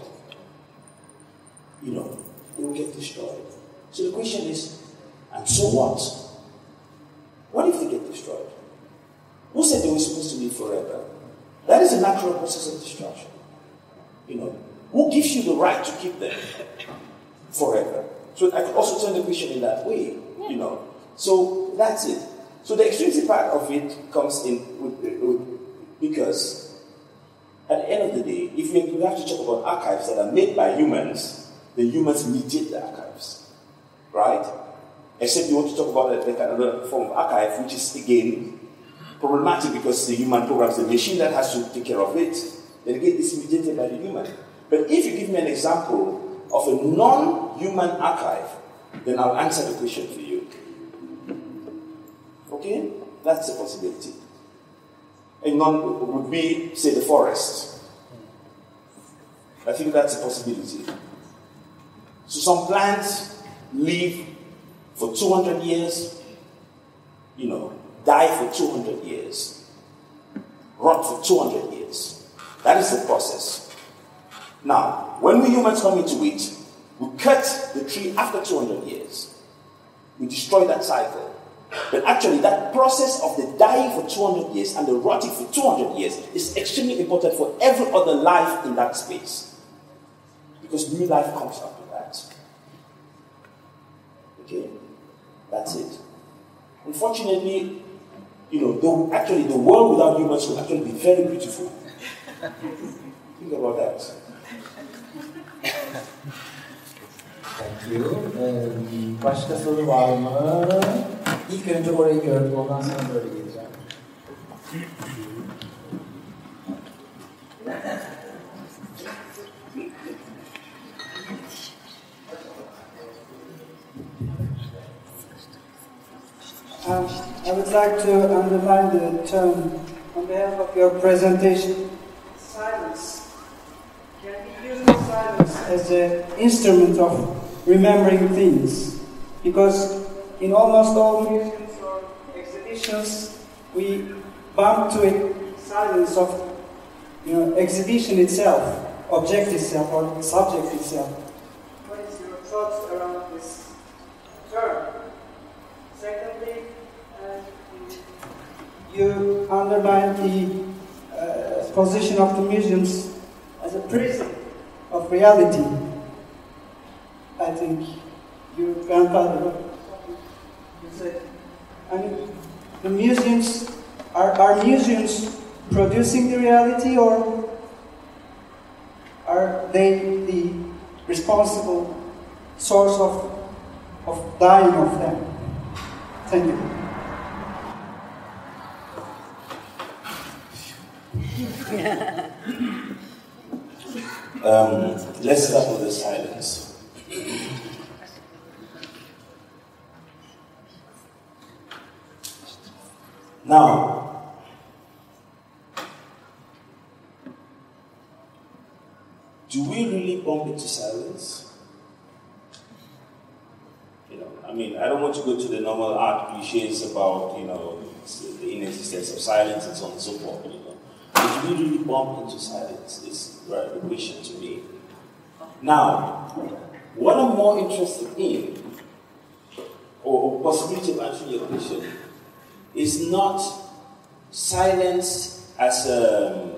They will get destroyed. So the question is, and so what? What if they get destroyed? Who said they were supposed to live forever? That is a natural process of destruction. Who gives you the right to keep them forever? So I could also turn the question in that way, So that's it. So the extrinsic part of it comes in because at the end of the day, if we have to talk about archives that are made by humans, the humans mediate the archives, right? Except you want to talk about another form of archive, which is again problematic because the human programs the machine that has to take care of it. Then again, it's mediated by the human. But if you give me an example of a non-human archive, then I'll answer the question for you. Okay? That's a possibility. A non would be, say, the forest. I think that's a possibility. So some plants live for 200 years, die for 200 years, rot for 200 years. That is the process. Now, when we humans come into it, we cut the tree after 200 years. We destroy that cycle. But actually, that process of the dying for 200 years and the rotting for 200 years is extremely important for every other life in that space. Because new life comes after that. Okay? That's it. Unfortunately, the world without humans will actually be very beautiful. Think about that.
Thank you. Başka soru var mı? İlk önce orayı gördüm, ondan sonra böyle geleceğim.
I would like to underline the term on behalf of your presentation, silence. Can we use silence as an instrument of remembering things? Because in almost all museums or exhibitions, we bump to a silence of, exhibition itself, object itself, or subject itself. What is your thoughts around this term? Secondly, you underline the position of the museums as a prison of reality. I think your grandfather said. The museums, are museums producing the reality, or are they the responsible source of dying of them? Thank you.
Let's start with the silence. Now, do we really bump into silence? I mean, I don't want to go to the normal art cliches about, the inexistence of silence and so on and so forth. But do we really bump into silence? Is the question to me. Now, what I'm more interested in, or possibility of answering your question, is not silence as a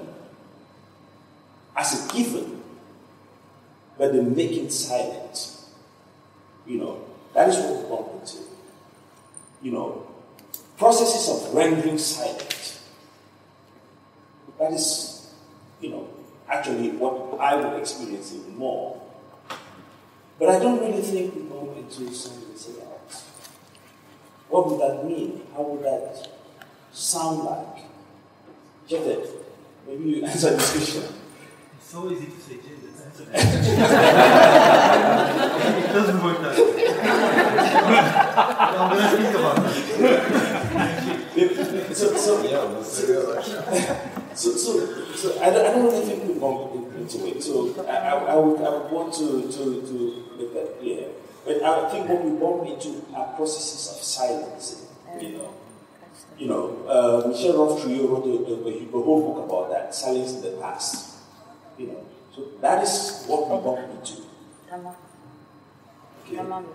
given, but the making silent. That is what we bump into. Processes of rendering silent. That is, actually what I would experience even more. But I don't really think we bump into silence a lot. What would that mean? How would that sound like? Jafet, maybe you answer this question.
It's so easy to say gender. It doesn't work that way. I'm going to think about
that. So I don't really think we bump into it. So I would want to make that clear. But I think what we bump into are processes of silencing. Michel Roth-Trujillo wrote a whole book about that, silence in the past. So that is what we bump into. Okay.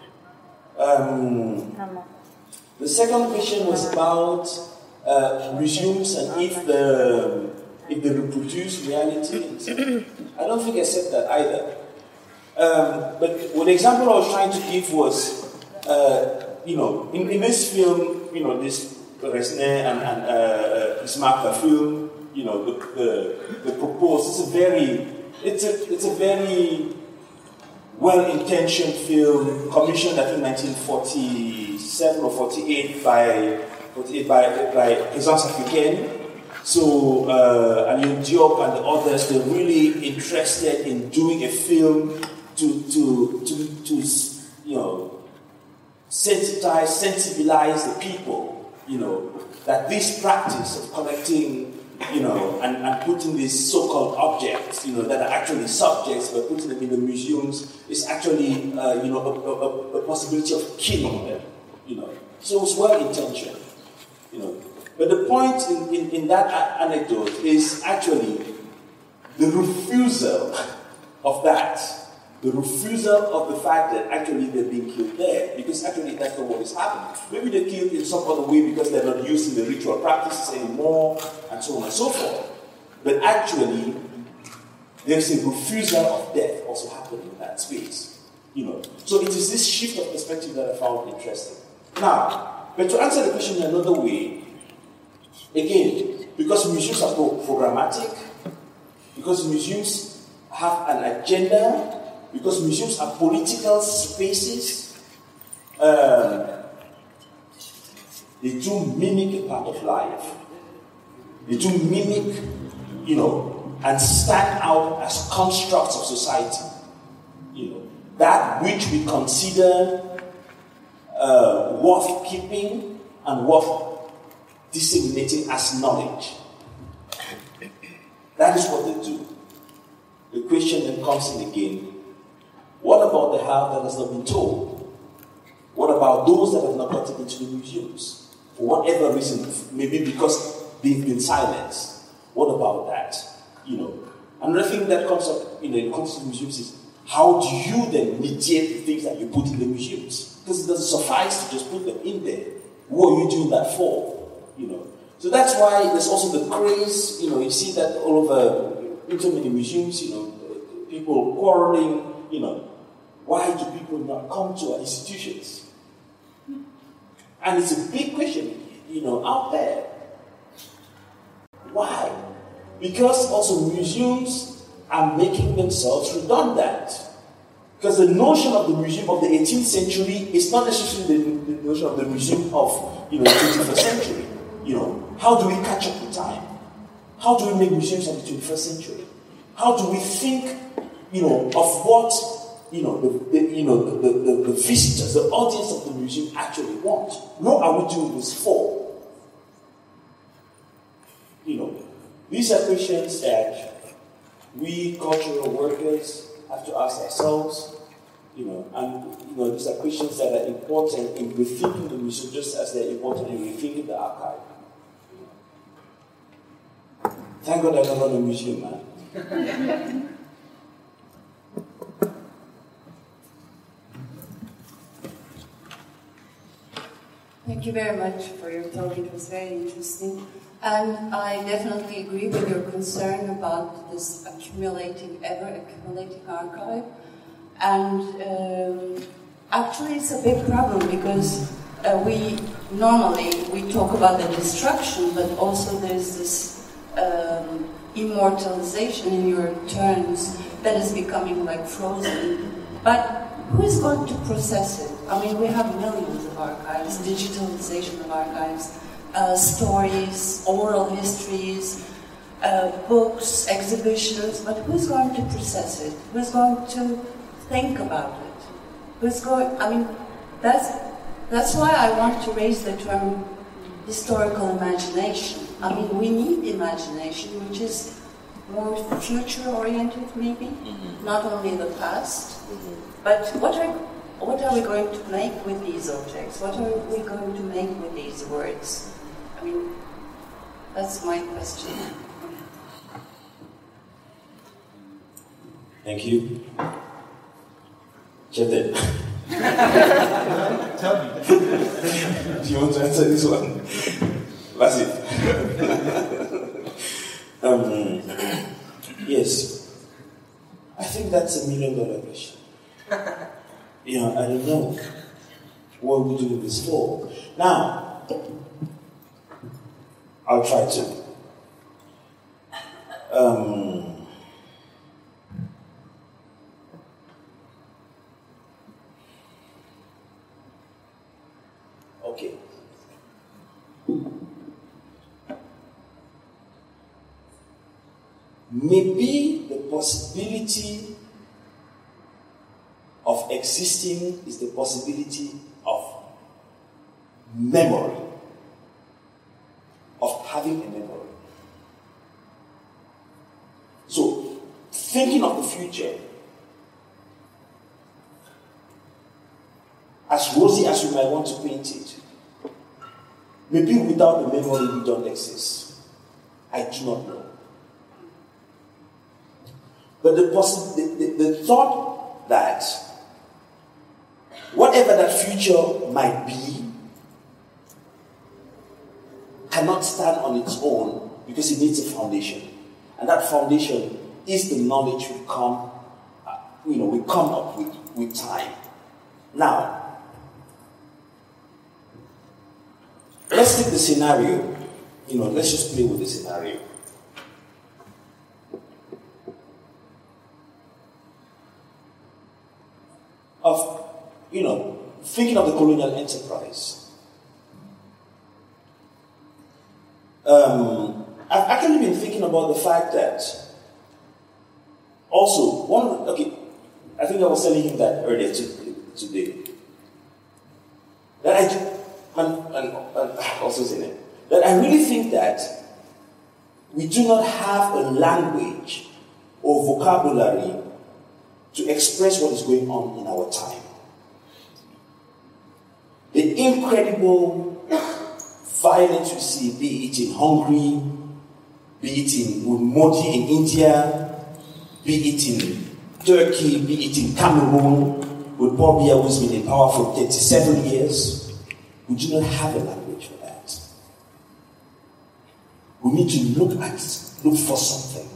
The second question was about museums and if they reproduce reality. I don't think I said that either. But the example I was trying to give was, in this film, this Resnais and Ismail film, the proposed. It's a very well-intentioned film, commissioned I think 1947 or 48 by Présence Africaine. So Alioune Diop and the others, they're really interested in doing a film to sensibilize the people, that this practice of collecting, and putting these so-called objects, that are actually subjects, but putting them in the museums is actually, a possibility of killing them, So it's well-intentioned, But the point in that anecdote is actually the refusal of that. The refusal of the fact that actually they're being killed there, because actually that's not what is happening. Maybe they're killed in some other way because they're not using the ritual practices anymore, and so on and so forth. But actually, there's a refusal of death also happening in that space. So it is this shift of perspective that I found interesting. Now, but to answer the question in another way, again, because museums are programmatic, because museums have an agenda, because museums are political spaces, they do mimic a part of life. They do mimic, and stand out as constructs of society. That which we consider worth keeping and worth disseminating as knowledge. That is what they do. The question then comes in again. What about the half that has not been told? What about those that have not gotten into the museums? For whatever reason, maybe because they've been silenced. What about that? Another thing that comes up in the context of museums is how do you then mediate the things that you put in the museums? Because it doesn't suffice to just put them in there. What are you doing that for? So that's why there's also the craze. You see that all over into many museums. People quarreling. Why do people not come to our institutions? And it's a big question, out there. Why? Because also museums are making themselves redundant. Because the notion of the museum of the 18th century is not necessarily the notion of the museum of the 21st century. How do we catch up with time? How do we make museums of the 21st century? How do we think of what, the visitors, the audience of the museum actually want. What are we doing this for? These are questions that we cultural workers have to ask ourselves, and these are questions that are important in rethinking the museum just as they're important in rethinking the archive. Thank God I don't run a museum, man.
Thank you very much for your talk. It was very interesting. And I definitely agree with your concern about this ever accumulating archive. And actually it's a big problem because we talk about the destruction, but also there's this immortalization in your terms that is becoming like frozen. But who is going to process it? I mean, we have millions of archives, digitalization of archives, stories, oral histories, books, exhibitions, but who's going to process it? Who's going to think about it? That's why I want to raise the term historical imagination. I mean, we need imagination, which is more future-oriented, maybe, not only the past. But what are we going to make with these objects? What are we going to make with these words? I mean, that's my question.
Thank you. Chetan.
Tell me.
Do you want to answer this one? That's it. Yes. I think that's $1 million question. I don't know what we're doing this for. Now, I'll try to. Okay. Maybe the possibility of existing is the possibility of memory, of having a memory. So, thinking of the future, as rosy as we might want to paint it, maybe without the memory we don't exist. I do not know. But the thought that whatever that future might be cannot stand on its own because it needs a foundation. And that foundation is the knowledge we come up with time. Now, let's take the scenario. Let's just play with the scenario. Of, thinking of the colonial enterprise. I've actually been thinking about the fact that also, I think I was telling him that earlier today. That also saying it, that I really think that we do not have a language or vocabulary to express what is going on in our time. The incredible violence we see, be it in Hungary, be it in Modi in India, be it in Turkey, be it in Cameroon, with Paul Biya who's been in power for 37 years, we do not have a language for that. We need to look for something.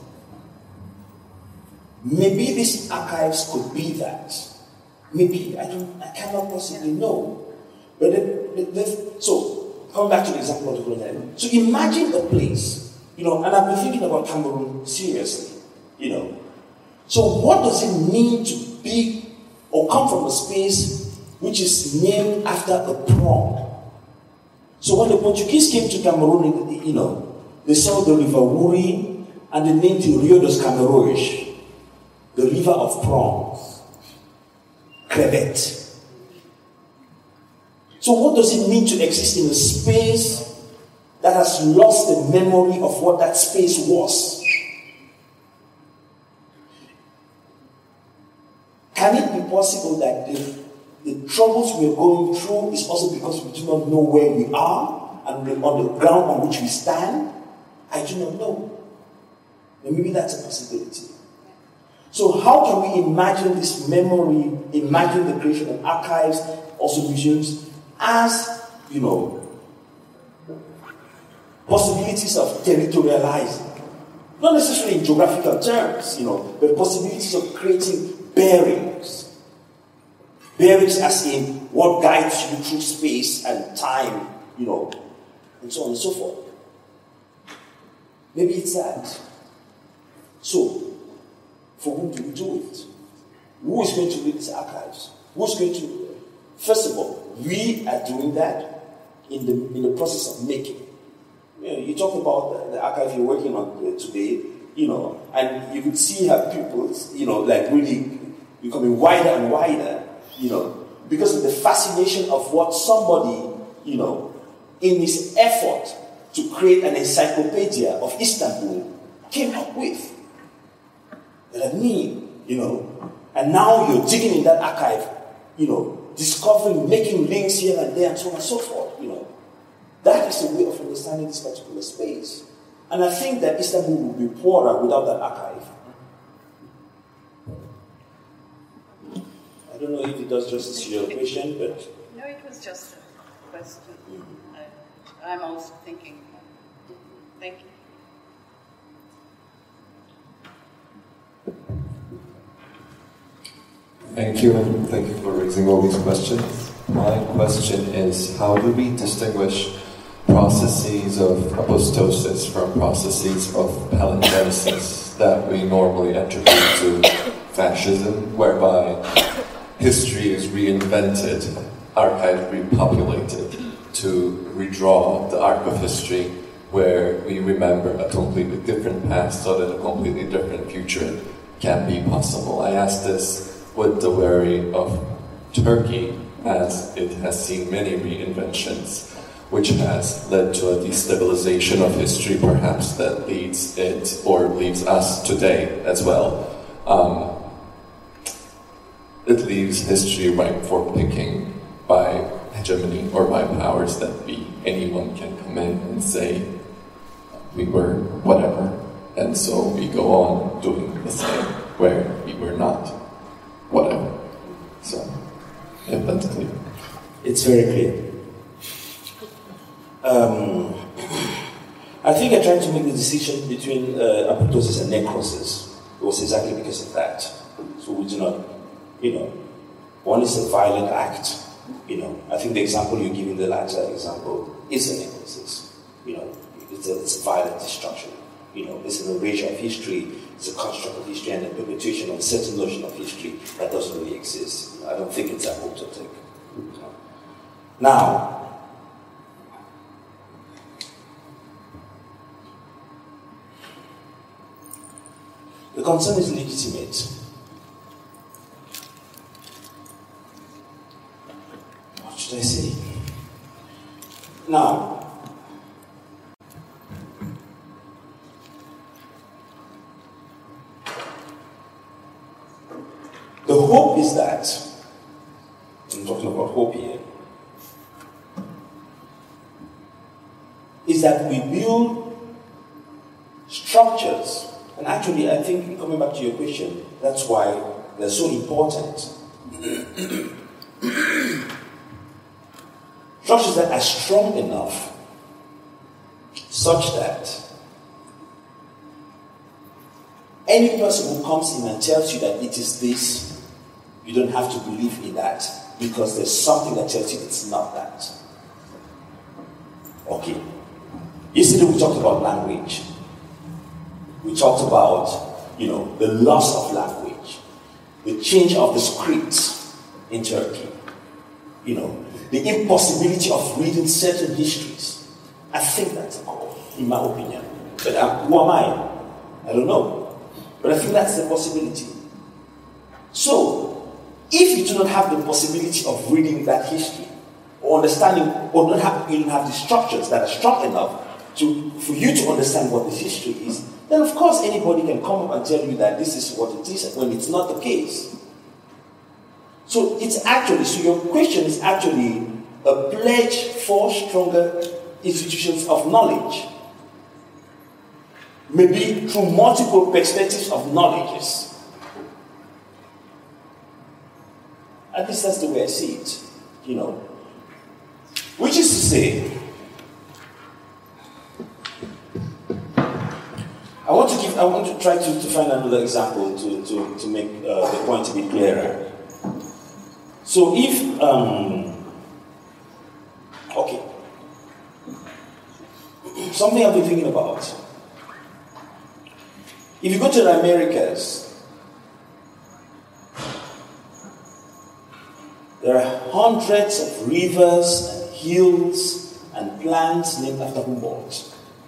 Maybe these archives could be that. Maybe, I cannot possibly know. But so, come back to the example of the colonial. So imagine a place, and I've been thinking about Cameroon seriously, So what does it mean to be or come from a space which is named after a prong? So when the Portuguese came to Cameroon, they saw the river Wuri and they named it Rio dos Camarões. the river of prawns, crevet. So what does it mean to exist in a space that has lost the memory of what that space was? Can it be possible that the troubles we are going through is also because we do not know where we are and on the ground on which we stand? I do not know. And maybe that's a possibility. So how can we imagine this memory, imagine the creation of archives, also museums, as, possibilities of territorializing? Not necessarily in geographical terms, but possibilities of creating bearings. Bearings as in what guides you through space and time, and so on and so forth. Maybe it's that. So, for whom do we do it? Who is going to read these archives? Who's going to? First of all, we are doing that in the process of making. You talk about the archive you're working on today, and you could see how pupils, really becoming wider and wider, because of the fascination of what somebody, in his effort to create an encyclopedia of Istanbul came up with. That and now you're digging in that archive, discovering, making links here and there, and so on and so forth, That is a way of understanding this particular space. And I think that Istanbul would be poorer without that archive. I don't know if it does justice to your question, but...
No, it was just a question. I'm also thinking. Thank you.
Thank you, and thank you for raising all these questions. My question is, how do we distinguish processes of apostosis from processes of palingenesis that we normally attribute to fascism, whereby history is reinvented, archive repopulated, to redraw the arc of history where we remember a completely different past so that a completely different future can be possible. I ask this with the worry of Turkey, as it has seen many reinventions, which has led to a destabilization of history, perhaps that leads it, or leads us today as well. It leaves history ripe for picking by hegemony or by powers that be. Anyone can come in and say, we were whatever, and so we go on doing the same, where we were not whatever. So, if that's clear.
It's very clear. I think I tried to make the decision between apoptosis and necrosis. It was exactly because of that. So we do not, one is a violent act. I think the example you give in the latter example is a necrosis. It's a violent destruction. It's an erasure of history. It's a construct of history and a perpetuation of a certain notion of history that doesn't really exist. I don't think it's apoptotic. Now, the concern is legitimate. What should I say? Now, the hope is that, I'm talking about hope here, is that we build structures. And actually, I think, coming back to your question, that's why they're so important. Structures that are strong enough such that any person who comes in and tells you that it is this, you don't have to believe in that, because there's something that tells you it's not that. Okay. Yesterday we talked about language. We talked about, the loss of language, the change of the scripts in Turkey, the impossibility of reading certain histories. I think that's a call, in my opinion. But who am I? I don't know. But I think that's the possibility. So, if you do not have the possibility of reading that history, or understanding, or you don't have the structures that are strong enough for you to understand what this history is, then of course anybody can come up and tell you that this is what it is, when it's not the case. So your question is actually a pledge for stronger institutions of knowledge. Maybe through multiple perspectives of knowledges. At least that's the way I see it, Which is to say, I want to try to find another example to make the point a bit clearer. So if, okay, something I've been thinking about. If you go to the Americas, there are hundreds of rivers and hills and plants named after Humboldt.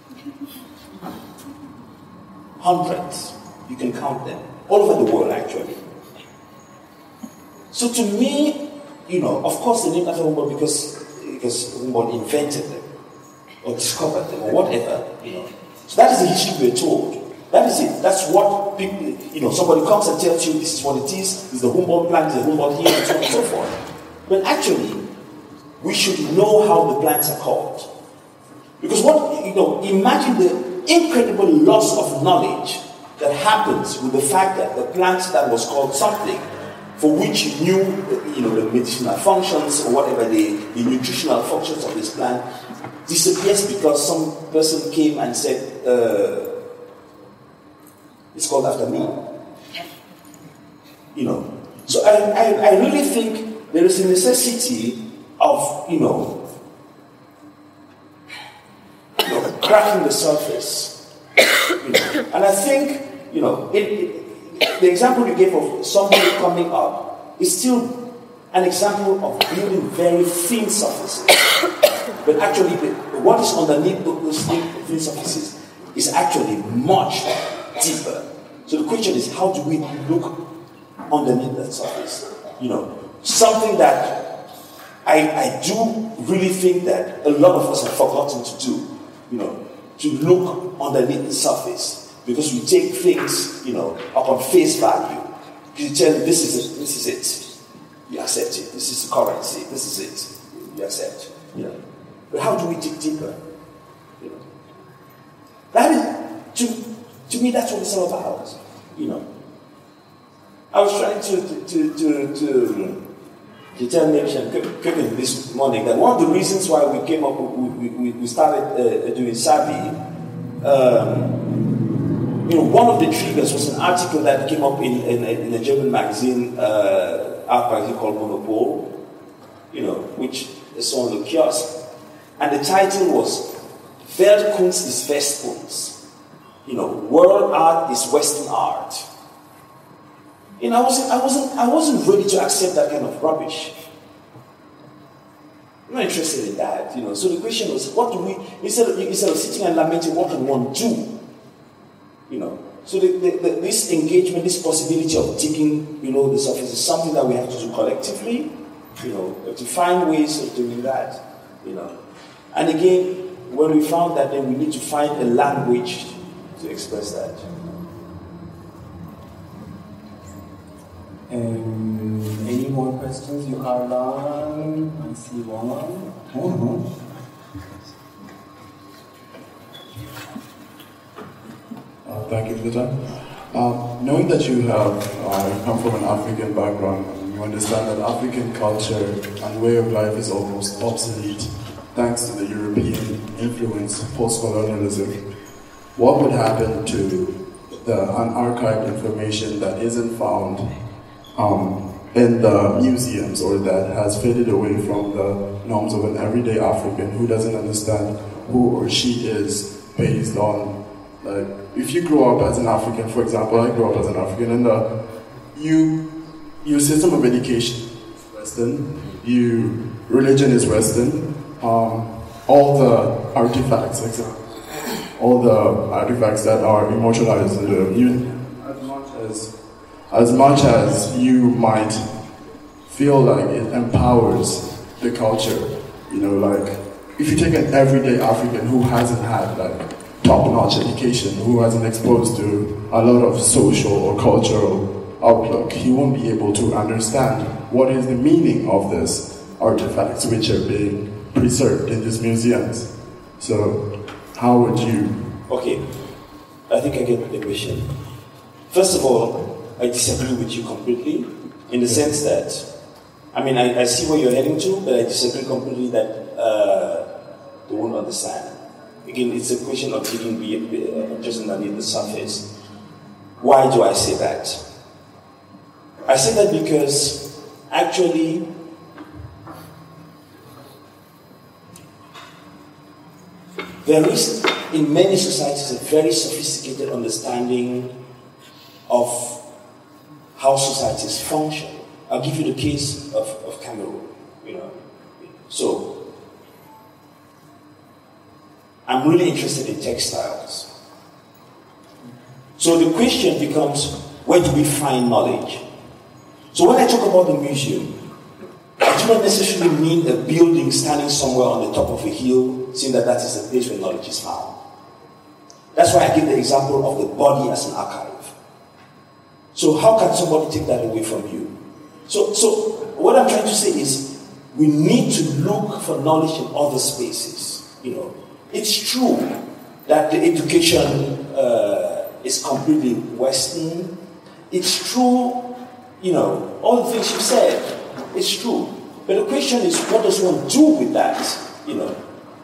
Hundreds. You can count them. All over the world, actually. So to me, of course they named after Humboldt because Humboldt invented them or discovered them or whatever, So that is the history we're told. That is it. That's what people, somebody comes and tells you this is what it is the Humboldt plant, the Humboldt hill, and so on and so forth. But actually, we should know how the plants are called. Because imagine the incredible loss of knowledge that happens with the fact that the plant that was called something, for which you knew, the medicinal functions or whatever the nutritional functions of this plant, disappears because some person came and said, it's called after me. So I really think there is a necessity of, cracking the surface. And I think, the example you gave of somebody coming up is still an example of building very thin surfaces. But actually, what is underneath those thin surfaces is actually much deeper. So the question is, how do we look underneath that surface? Something that I do really think that a lot of us have forgotten to do. To look underneath the surface, because we take things, upon face value. You tell me this is it, you accept it. This is the currency, this is it, you accept. But how do we dig deeper? That is, to me, that's what it's all about. I was trying to tell Nation Cooking this morning that one of the reasons why we came up, we started doing Sabi, one of the triggers was an article that came up in a German magazine, art magazine called Monopol, which is on the kiosk. And the title was Weltkunst ist Westkunst. World art is Western art. I wasn't ready to accept that kind of rubbish. I'm not interested in that, So the question was, what do we, instead of sitting and lamenting, what can one do? So this engagement, this possibility of digging below the surface is something that we have to do collectively, to find ways of doing that, And again, when we found that, then we need to find a language to express that.
Any more questions? You are done. I see one.
Thank you for the time. Knowing that you come from an African background, and you understand that African culture and way of life is almost obsolete thanks to the European influence, post-colonialism, what would happen to the unarchived information that isn't found in the museums, or that has faded away from the norms of an everyday African who doesn't understand who or she is based on, like, if you grow up as an African, for example, I grew up as an African, and your system of education is Western, religion is Western, all the artifacts, all the artifacts that are immortalized, as much as you might feel like it empowers the culture, you know, like if you take an everyday African who hasn't had like top-notch education, who hasn't exposed to a lot of social or cultural outlook, he won't be able to understand what is the meaning of these artifacts which are being preserved in these museums. So, how would you?
Okay, I think I get the question. First of all, I disagree with you completely in the sense that, I mean, I see where you're heading to, but I disagree completely that they won't understand. Again, it's a question of digging just underneath the surface. Why do I say that? I say that because actually there is in many societies a very sophisticated understanding of how societies function. I'll give you the case of Cameroon. You know, so I'm really interested in textiles. So the question becomes, where do we find knowledge? So when I talk about the museum, I do not necessarily mean a building standing somewhere on the top of a hill, saying that that is the place where knowledge is found. That's why I give the example of the body as an archive. So how can somebody take that away from you? So what I'm trying to say is, we need to look for knowledge in other spaces. You know, it's true that the education is completely Western. It's true, you know, all the things you said. It's true. But the question is, what does one do with that? You know,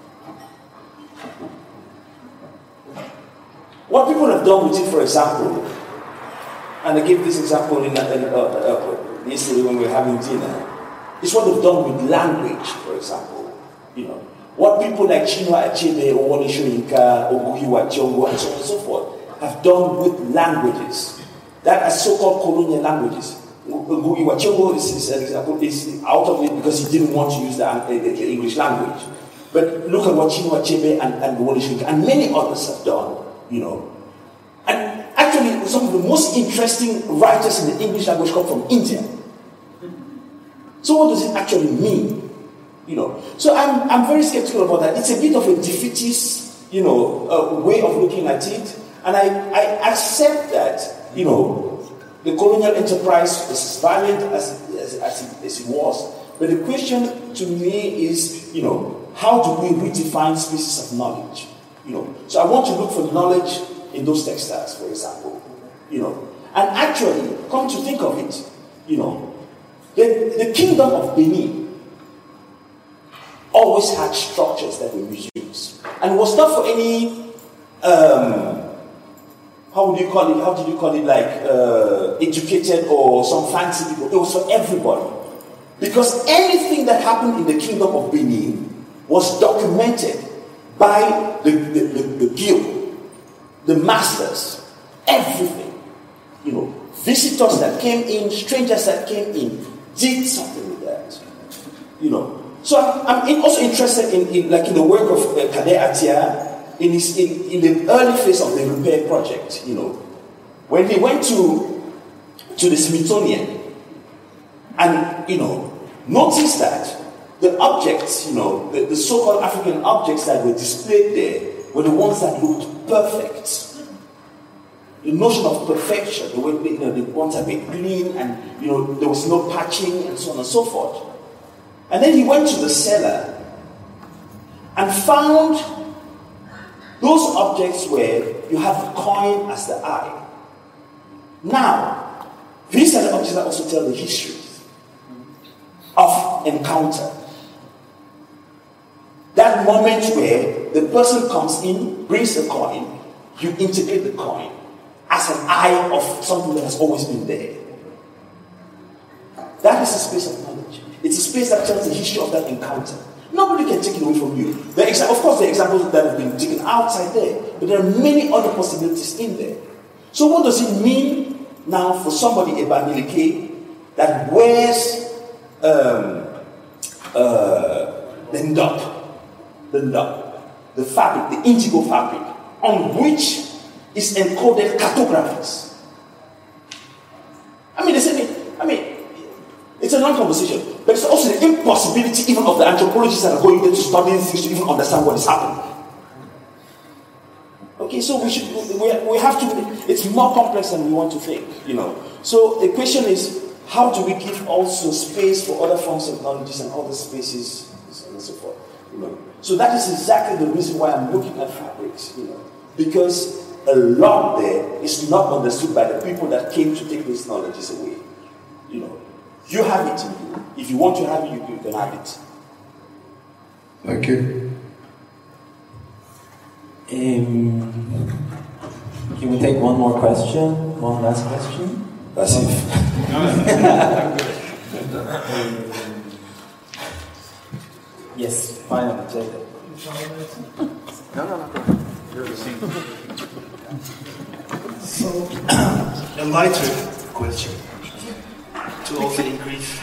what people have done with it, for example, and I gave this example in yesterday when we were having dinner, is what they've done with language, for example. You know, what people like Chinua Achebe, Owole Soyinka, Oguhiwa Chiongo, and so on and so forth have done with languages that are so-called colonial languages. Oguhiwa Chiongo is out of it because he didn't want to use the English language. But look at what Chinua Achebe and Owole Soyinka and many others have done. You know, and actually some of the most interesting writers in the English language come from India. So what does it actually mean? You know, so I'm very skeptical about that. It's a bit of a defeatist, you know, way of looking at it, and I accept that, you know, the colonial enterprise was as valiant as it was. But the question to me is, you know, how do we redefine spaces of knowledge? You know, so I want to look for knowledge in those textiles, for example. You know, and actually, come to think of it, you know, the kingdom of Benin always had structures that were museums, and it was not for any how did you call it, like educated or some fancy people. It was for everybody, because anything that happened in the kingdom of Benin was documented by the guild, the masters, everything. You know, visitors that came in, strangers that came in, did something with that. You know, so I'm also interested in the work of Kade Atia in the early phase of the repair project. You know, when he went to the Smithsonian, and you know, noticed that the objects, you know, the so-called African objects that were displayed there were the ones that looked perfect. The notion of perfection, the way, you know, the ones that were clean, and you know, there was no patching and so on and so forth. And then he went to the cellar and found those objects where you have the coin as the eye. Now, these are the objects that also tell the history of encounter. That moment where the person comes in, brings the coin, you integrate the coin as an eye of something that has always been there. That is a space of knowledge. It's a space that tells the history of that encounter. Nobody can take it away from you. Of course, there are examples that have been taken outside there, but there are many other possibilities in there. So what does it mean now for somebody, a Bamileke, that wears the ndop, the fabric, the indigo fabric, on which is encoded cartographies? I mean, it's a long conversation, but it's also the impossibility even of the anthropologists that are going there to study these things to even understand what is happening. Okay, so we have to, it's more complex than we want to think, you know. So the question is, how do we give also space for other forms of knowledge and other spaces, and so forth, you know. So that is exactly the reason why I'm looking at fabrics, you know, because a lot there is not understood by the people that came to take those knowledges away, you know. You have it in you. If you want to have it, you can have it.
Thank you.
Can we take one more question? One last question?
That's it.
Yes, finally, Jacob.
No. So, a lighter question to also increase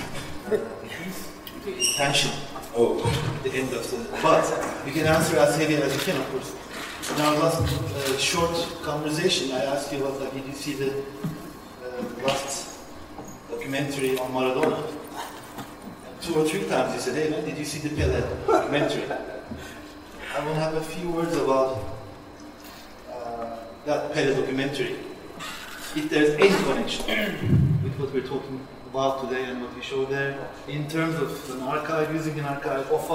tension at the end of the. But you can answer as heavy as you can, of course. In our last short conversation, I asked you about, like, did you see the last documentary on Maradona? 2 or 3 times you said, hey man, did you see the Pele documentary? I will have a few words about that Pele documentary. If there's any connection with what we're talking about today and what we show there, in terms of an archive, using an archive of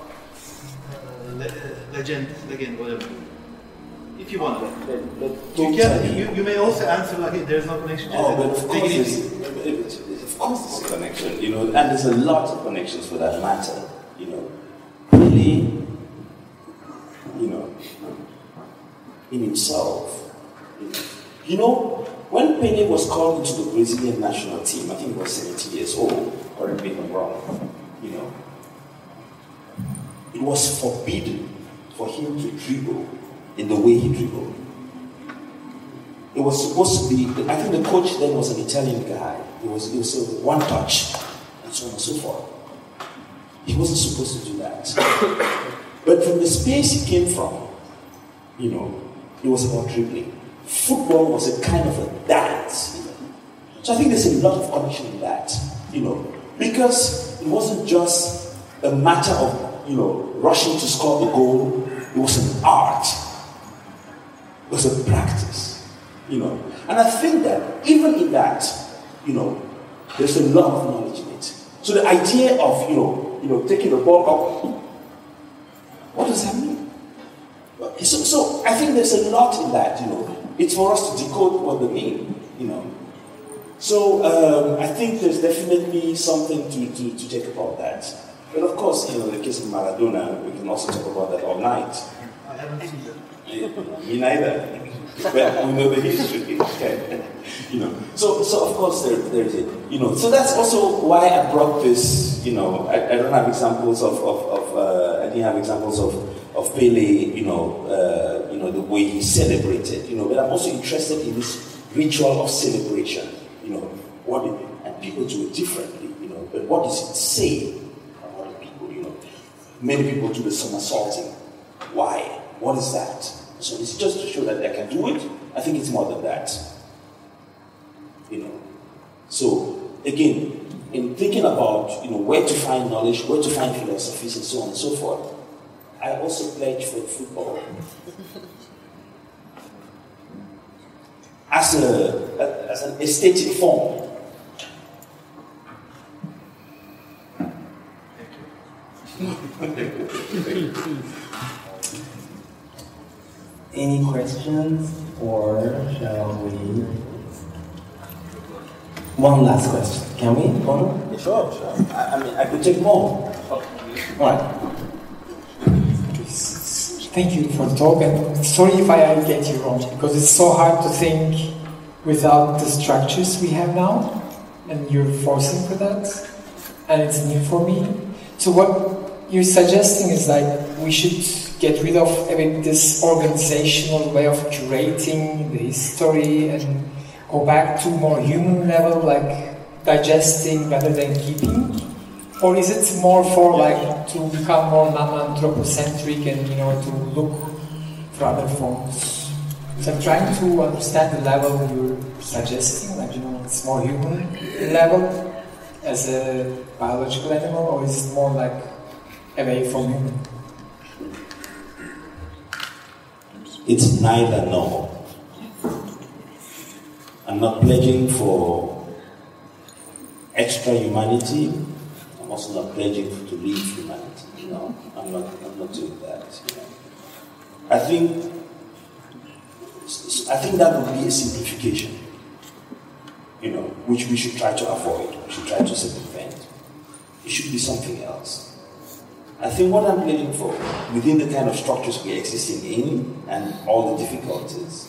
a legend, whatever. If you want to. You may also answer like, hey, there's no connection.
Oh, but of course there's a connection, you know, and there's a lot of connections for that matter, you know. Really, you know, in himself, you know, when Pele was called into the Brazilian national team, I think he was 70 years old, or if I'm wrong, you know, it was forbidden for him to dribble in the way he dribbled. It was supposed to be, I think the coach then was an Italian guy. It was a one touch, and so on and so forth. He wasn't supposed to do that. But from the space he came from, you know, it was about dribbling. Football was a kind of a dance, you know. So I think there's a lot of connection in that, you know, because it wasn't just a matter of, you know, rushing to score a goal. It was an art. It was a practice, you know. And I think that even in that, you know, there's a lot of knowledge in it. So the idea of, you know, taking the ball up, what does that mean? So I think there's a lot in that, you know. It's for us to decode what they mean, you know. So I think there's definitely something to take about that. But of course, you know, the case of Maradona, we can also talk about that all night.
I haven't seen that.
Me neither. But we know the history. You know. So of course there's it. You know. So that's also why I brought this. You know, I don't have examples of I didn't have examples of Pele. You know, the way he celebrated. You know, but I'm also interested in this ritual of celebration. You know, and people do it differently. You know, but what does it say about other people? You know, many people do the somersaulting. Why? What is that? So it's just to show that I can do it. I think it's more than that. You know. So again, in thinking about, you know, where to find knowledge, where to find philosophies, and so on and so forth, I also pledge for football as an aesthetic form.
Any questions, or shall we? One last question. Can we? One?
Sure. I mean, I could take more.
All right.
Thank you for the talk, and sorry if I get you wrong, because it's so hard to think without the structures we have now, and you're forcing for that, and it's new for me. So what you're suggesting is like we should get rid of this organizational way of curating the history and go back to more human level, like digesting rather than keeping? Or is it more for like to become more non-anthropocentric and, you know, to look for other forms? So I'm trying to understand the level you're suggesting, like, you know, it's more human level as a biological animal, or is it more like away from human?
It's neither nor. I'm not pledging for extra humanity. I'm also not pledging to leave humanity. You know, I'm not doing that. You know. I think that would be a simplification, you know, which we should try to avoid. We should try to circumvent. It should be something else. I think what I'm pledging for, within the kind of structures we're existing in and all the difficulties,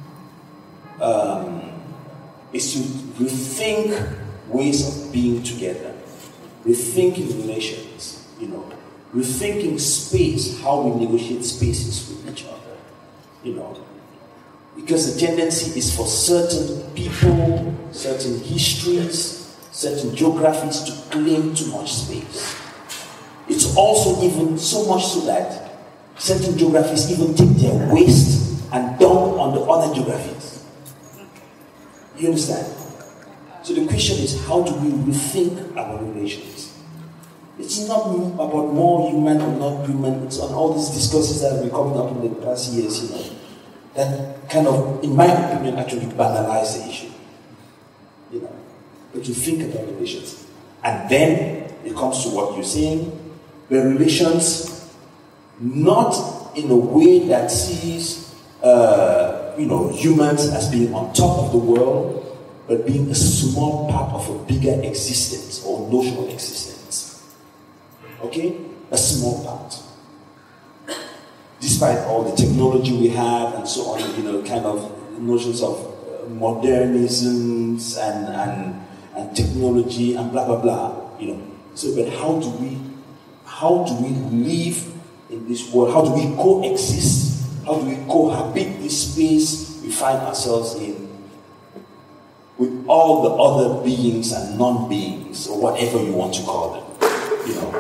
is to rethink ways of being together, rethinking relations, you know, rethinking space, how we negotiate spaces with each other, you know. Because the tendency is for certain people, certain histories, certain geographies to claim too much space. It's also even so much so that certain geographies even take their waste and dump on the other geographies. You understand? So the question is, how do we rethink our relations? It's not about more human or not human. It's on all these discussions that have been coming up in the past years, you know, that kind of, in my opinion, actually banalize the issue. You know, but you think about relations. And then it comes to what you're saying, where relations, not in a way that sees, you know, humans as being on top of the world, but being a small part of a bigger existence or notional existence. Okay? A small part. Despite all the technology we have and so on, you know, kind of notions of modernisms and technology and blah, blah, blah, you know. So, but how do we live in this world? How do we coexist? How do we cohabit this space we find ourselves in with all the other beings and non-beings, or whatever you want to call them, you know?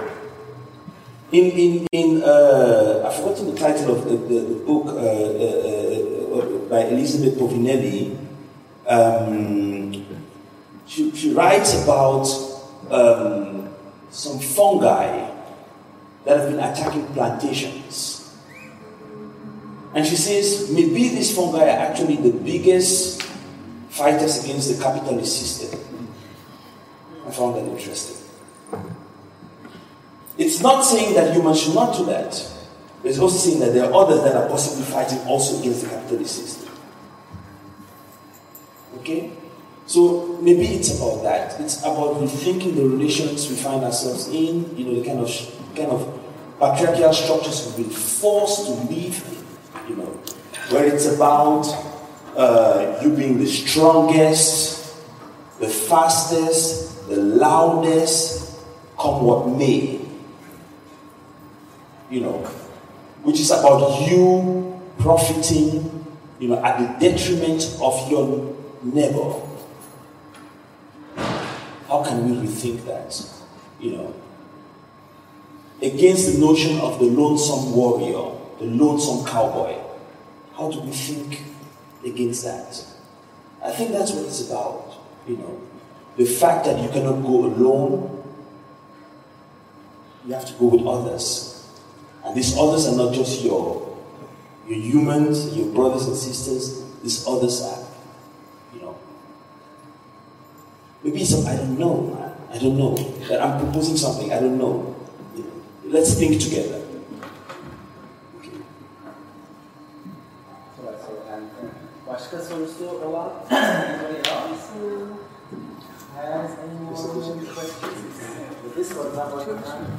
I've forgotten the title of the book by Elizabeth Povinelli. She writes about some fungi that have been attacking plantations. And she says, maybe these fungi are actually the biggest fighters against the capitalist system. I found that interesting. It's not saying that humans should not do that. It's also saying that there are others that are possibly fighting also against the capitalist system. Okay? So maybe it's about that. It's about rethinking the relations we find ourselves in, you know, the kind of patriarchal structures we've been forced to live in, you know, where it's about you being the strongest, the fastest, the loudest, come what may. You know, which is about you profiting, you know, at the detriment of your neighbor. How can we rethink that? You know, against the notion of the lonesome warrior, the lonesome cowboy. How do we think against that? I think that's what it's about. You know, the fact that you cannot go alone, you have to go with others. And these others are not just your humans, your brothers and sisters. These others are, you know. Maybe some, I don't know, man. I don't know. That I'm proposing something, I don't know. You know. Let's think together. Okay.
Başka sorusu olan anybody else? Has anyone questions? This was not what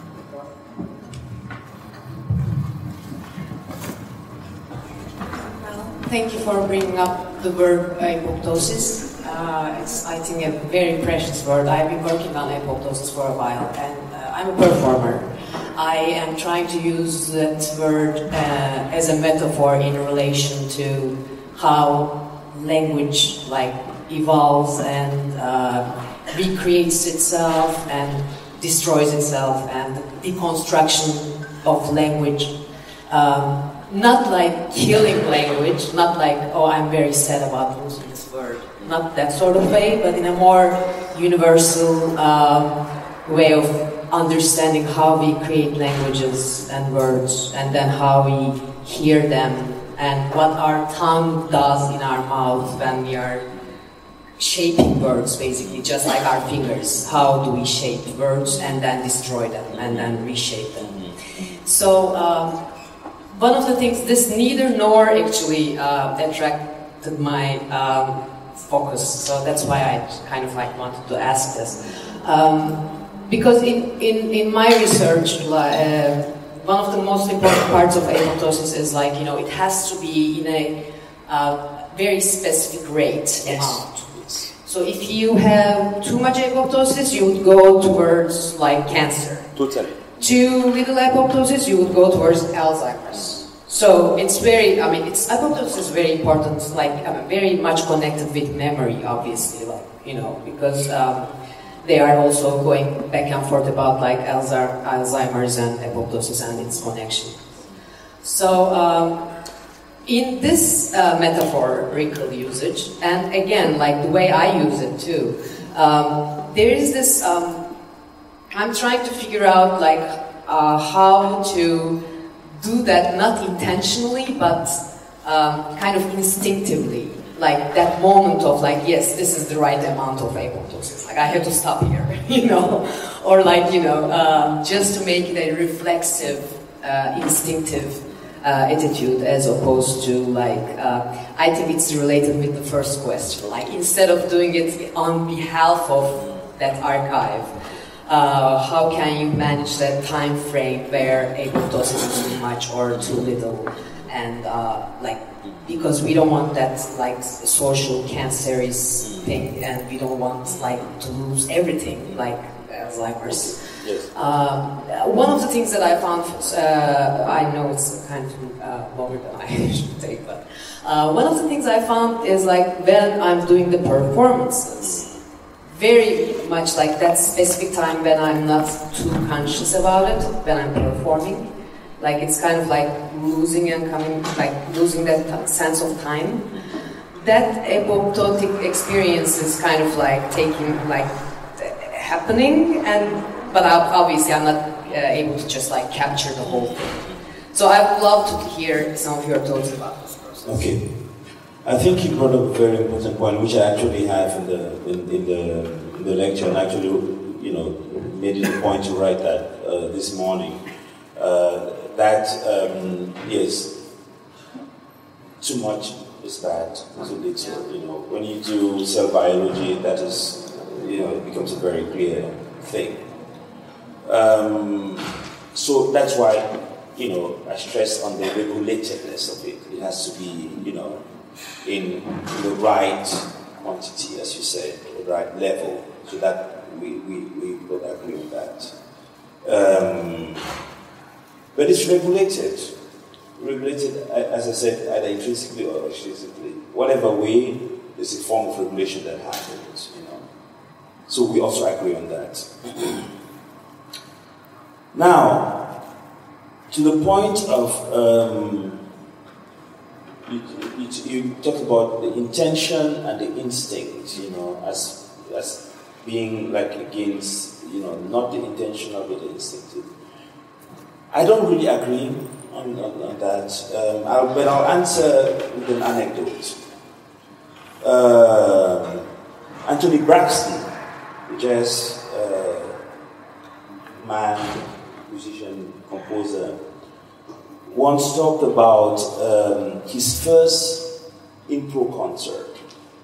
Thank you for bringing up the word apoptosis. It's, I think, a very precious word. I've been working on apoptosis for a while, and I'm a performer. I am trying to use that word as a metaphor in relation to how language evolves and recreates itself and destroys itself, and the deconstruction of language. not like killing language, not like, oh, I'm very sad about losing this word, not that sort of way, but in a more universal way of understanding how we create languages and words, and then how we hear them, and what our tongue does in our mouth when we are shaping words, basically, just like our fingers. How do we shape words and then destroy them and then reshape them? So one of the things, this neither nor actually attracted my focus, so that's why I kind of like wanted to ask this. Because in my research, one of the most important parts of apoptosis is like, you know, it has to be in a very specific rate amount. So if you have too much apoptosis, you would go towards like cancer.
Totally.
Too little apoptosis, you would go towards Alzheimer's. So it's very, I mean, apoptosis is very important, like very much connected with memory, obviously, like, you know, because they are also going back and forth about like Alzheimer's and apoptosis and its connection. So in this metaphorical usage, and again, like the way I use it too, there is this, I'm trying to figure out like how to do that, not intentionally, but kind of instinctively. Like that moment of like, yes, this is the right amount of apoptosis. Like I have to stop here, you know, or like, you know, just to make it a reflexive, instinctive attitude, as opposed to like, I think it's related with the first question. Like instead of doing it on behalf of that archive, how can you manage that time frame where apoptosis is too much or too little, and like, because we don't want that like social cancerous thing, and we don't want like to lose everything like Alzheimer's.
Yes.
One of the things that I found, I know it's kind of longer than I should take, but one of the things I found is like when I'm doing the performances, very much like that specific time when I'm not too conscious about it, when I'm performing. Like it's kind of like losing and coming, like losing that sense of time. That apoptotic experience is kind of like taking, like happening, but obviously I'm not able to just like capture the whole thing. So I would love to hear some of your thoughts about this process.
Okay, I think you brought up a very important point, which I actually have in the lecture, and actually, you know, made it a point to write that this morning. That yes, too much is bad, too little. You know, when you do cell biology, that is, you know, it becomes a very clear thing. So that's why, you know, I stress on the regulatedness of it. It has to be, you know, in the right quantity, as you said, the right level, so that we both agree on that. But it's regulated, as I said, either intrinsically or extrinsically. Whatever way, there's a form of regulation that happens, you know. So we also agree on that. Now, to the point of, you talked about the intention and the instinct, you know, as being like against, you know, not the intentional but the instinctive. I don't really agree on that, but I'll answer with an anecdote. Anthony Braxton, the jazz man, musician, composer, once talked about his first improv concert.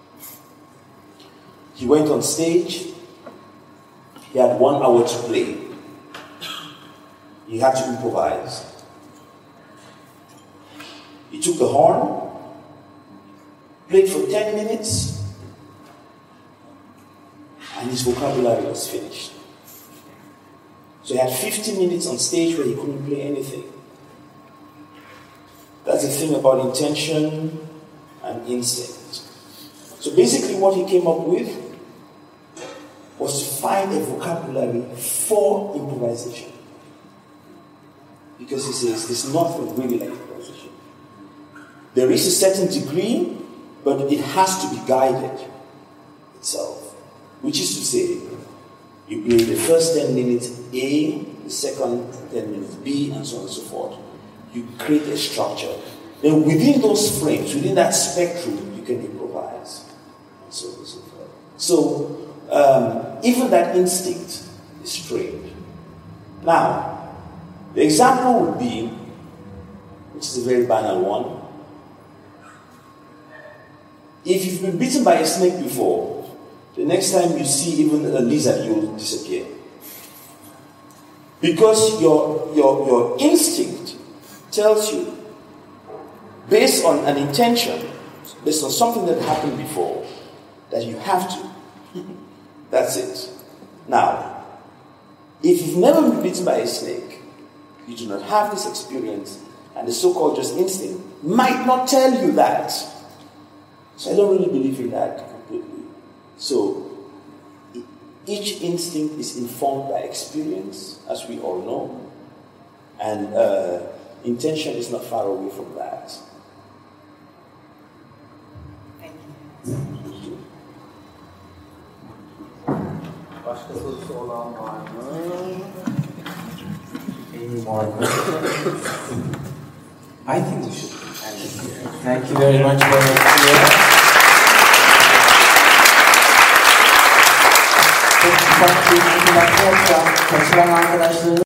He went on stage, he had 1 hour to play. He had to improvise. He took the horn, played for 10 minutes, and his vocabulary was finished. So he had 50 minutes on stage where he couldn't play anything. That's the thing about intention and instinct. So basically what he came up with was to find a vocabulary for improvisation. Because he says there's nothing really like improvisation. There is a certain degree, but it has to be guided itself. Which is to say, you play the first 10 minutes A, the second 10 minutes B, and so on and so forth. You create a structure. Then within those frames, within that spectrum, you can improvise, and so on and so forth. So, even that instinct is trained. Now, the example would be, which is a very banal one. If you've been bitten by a snake before, the next time you see even a lizard, you'll disappear. Because your instinct tells you, based on an intention, based on something that happened before, that you have to. That's it. Now, if you've never been bitten by a snake, you do not have this experience, and the so-called just instinct might not tell you that. So I don't really believe in that completely. So each instinct is informed by experience, as we all know, and intention is not far away from that.
Thank you.
Başka sorusu olan var mı?
Any more questions? I think we should end it here. Thank you very much for your
Çok ufak bir kaçıran arkadaşlarımız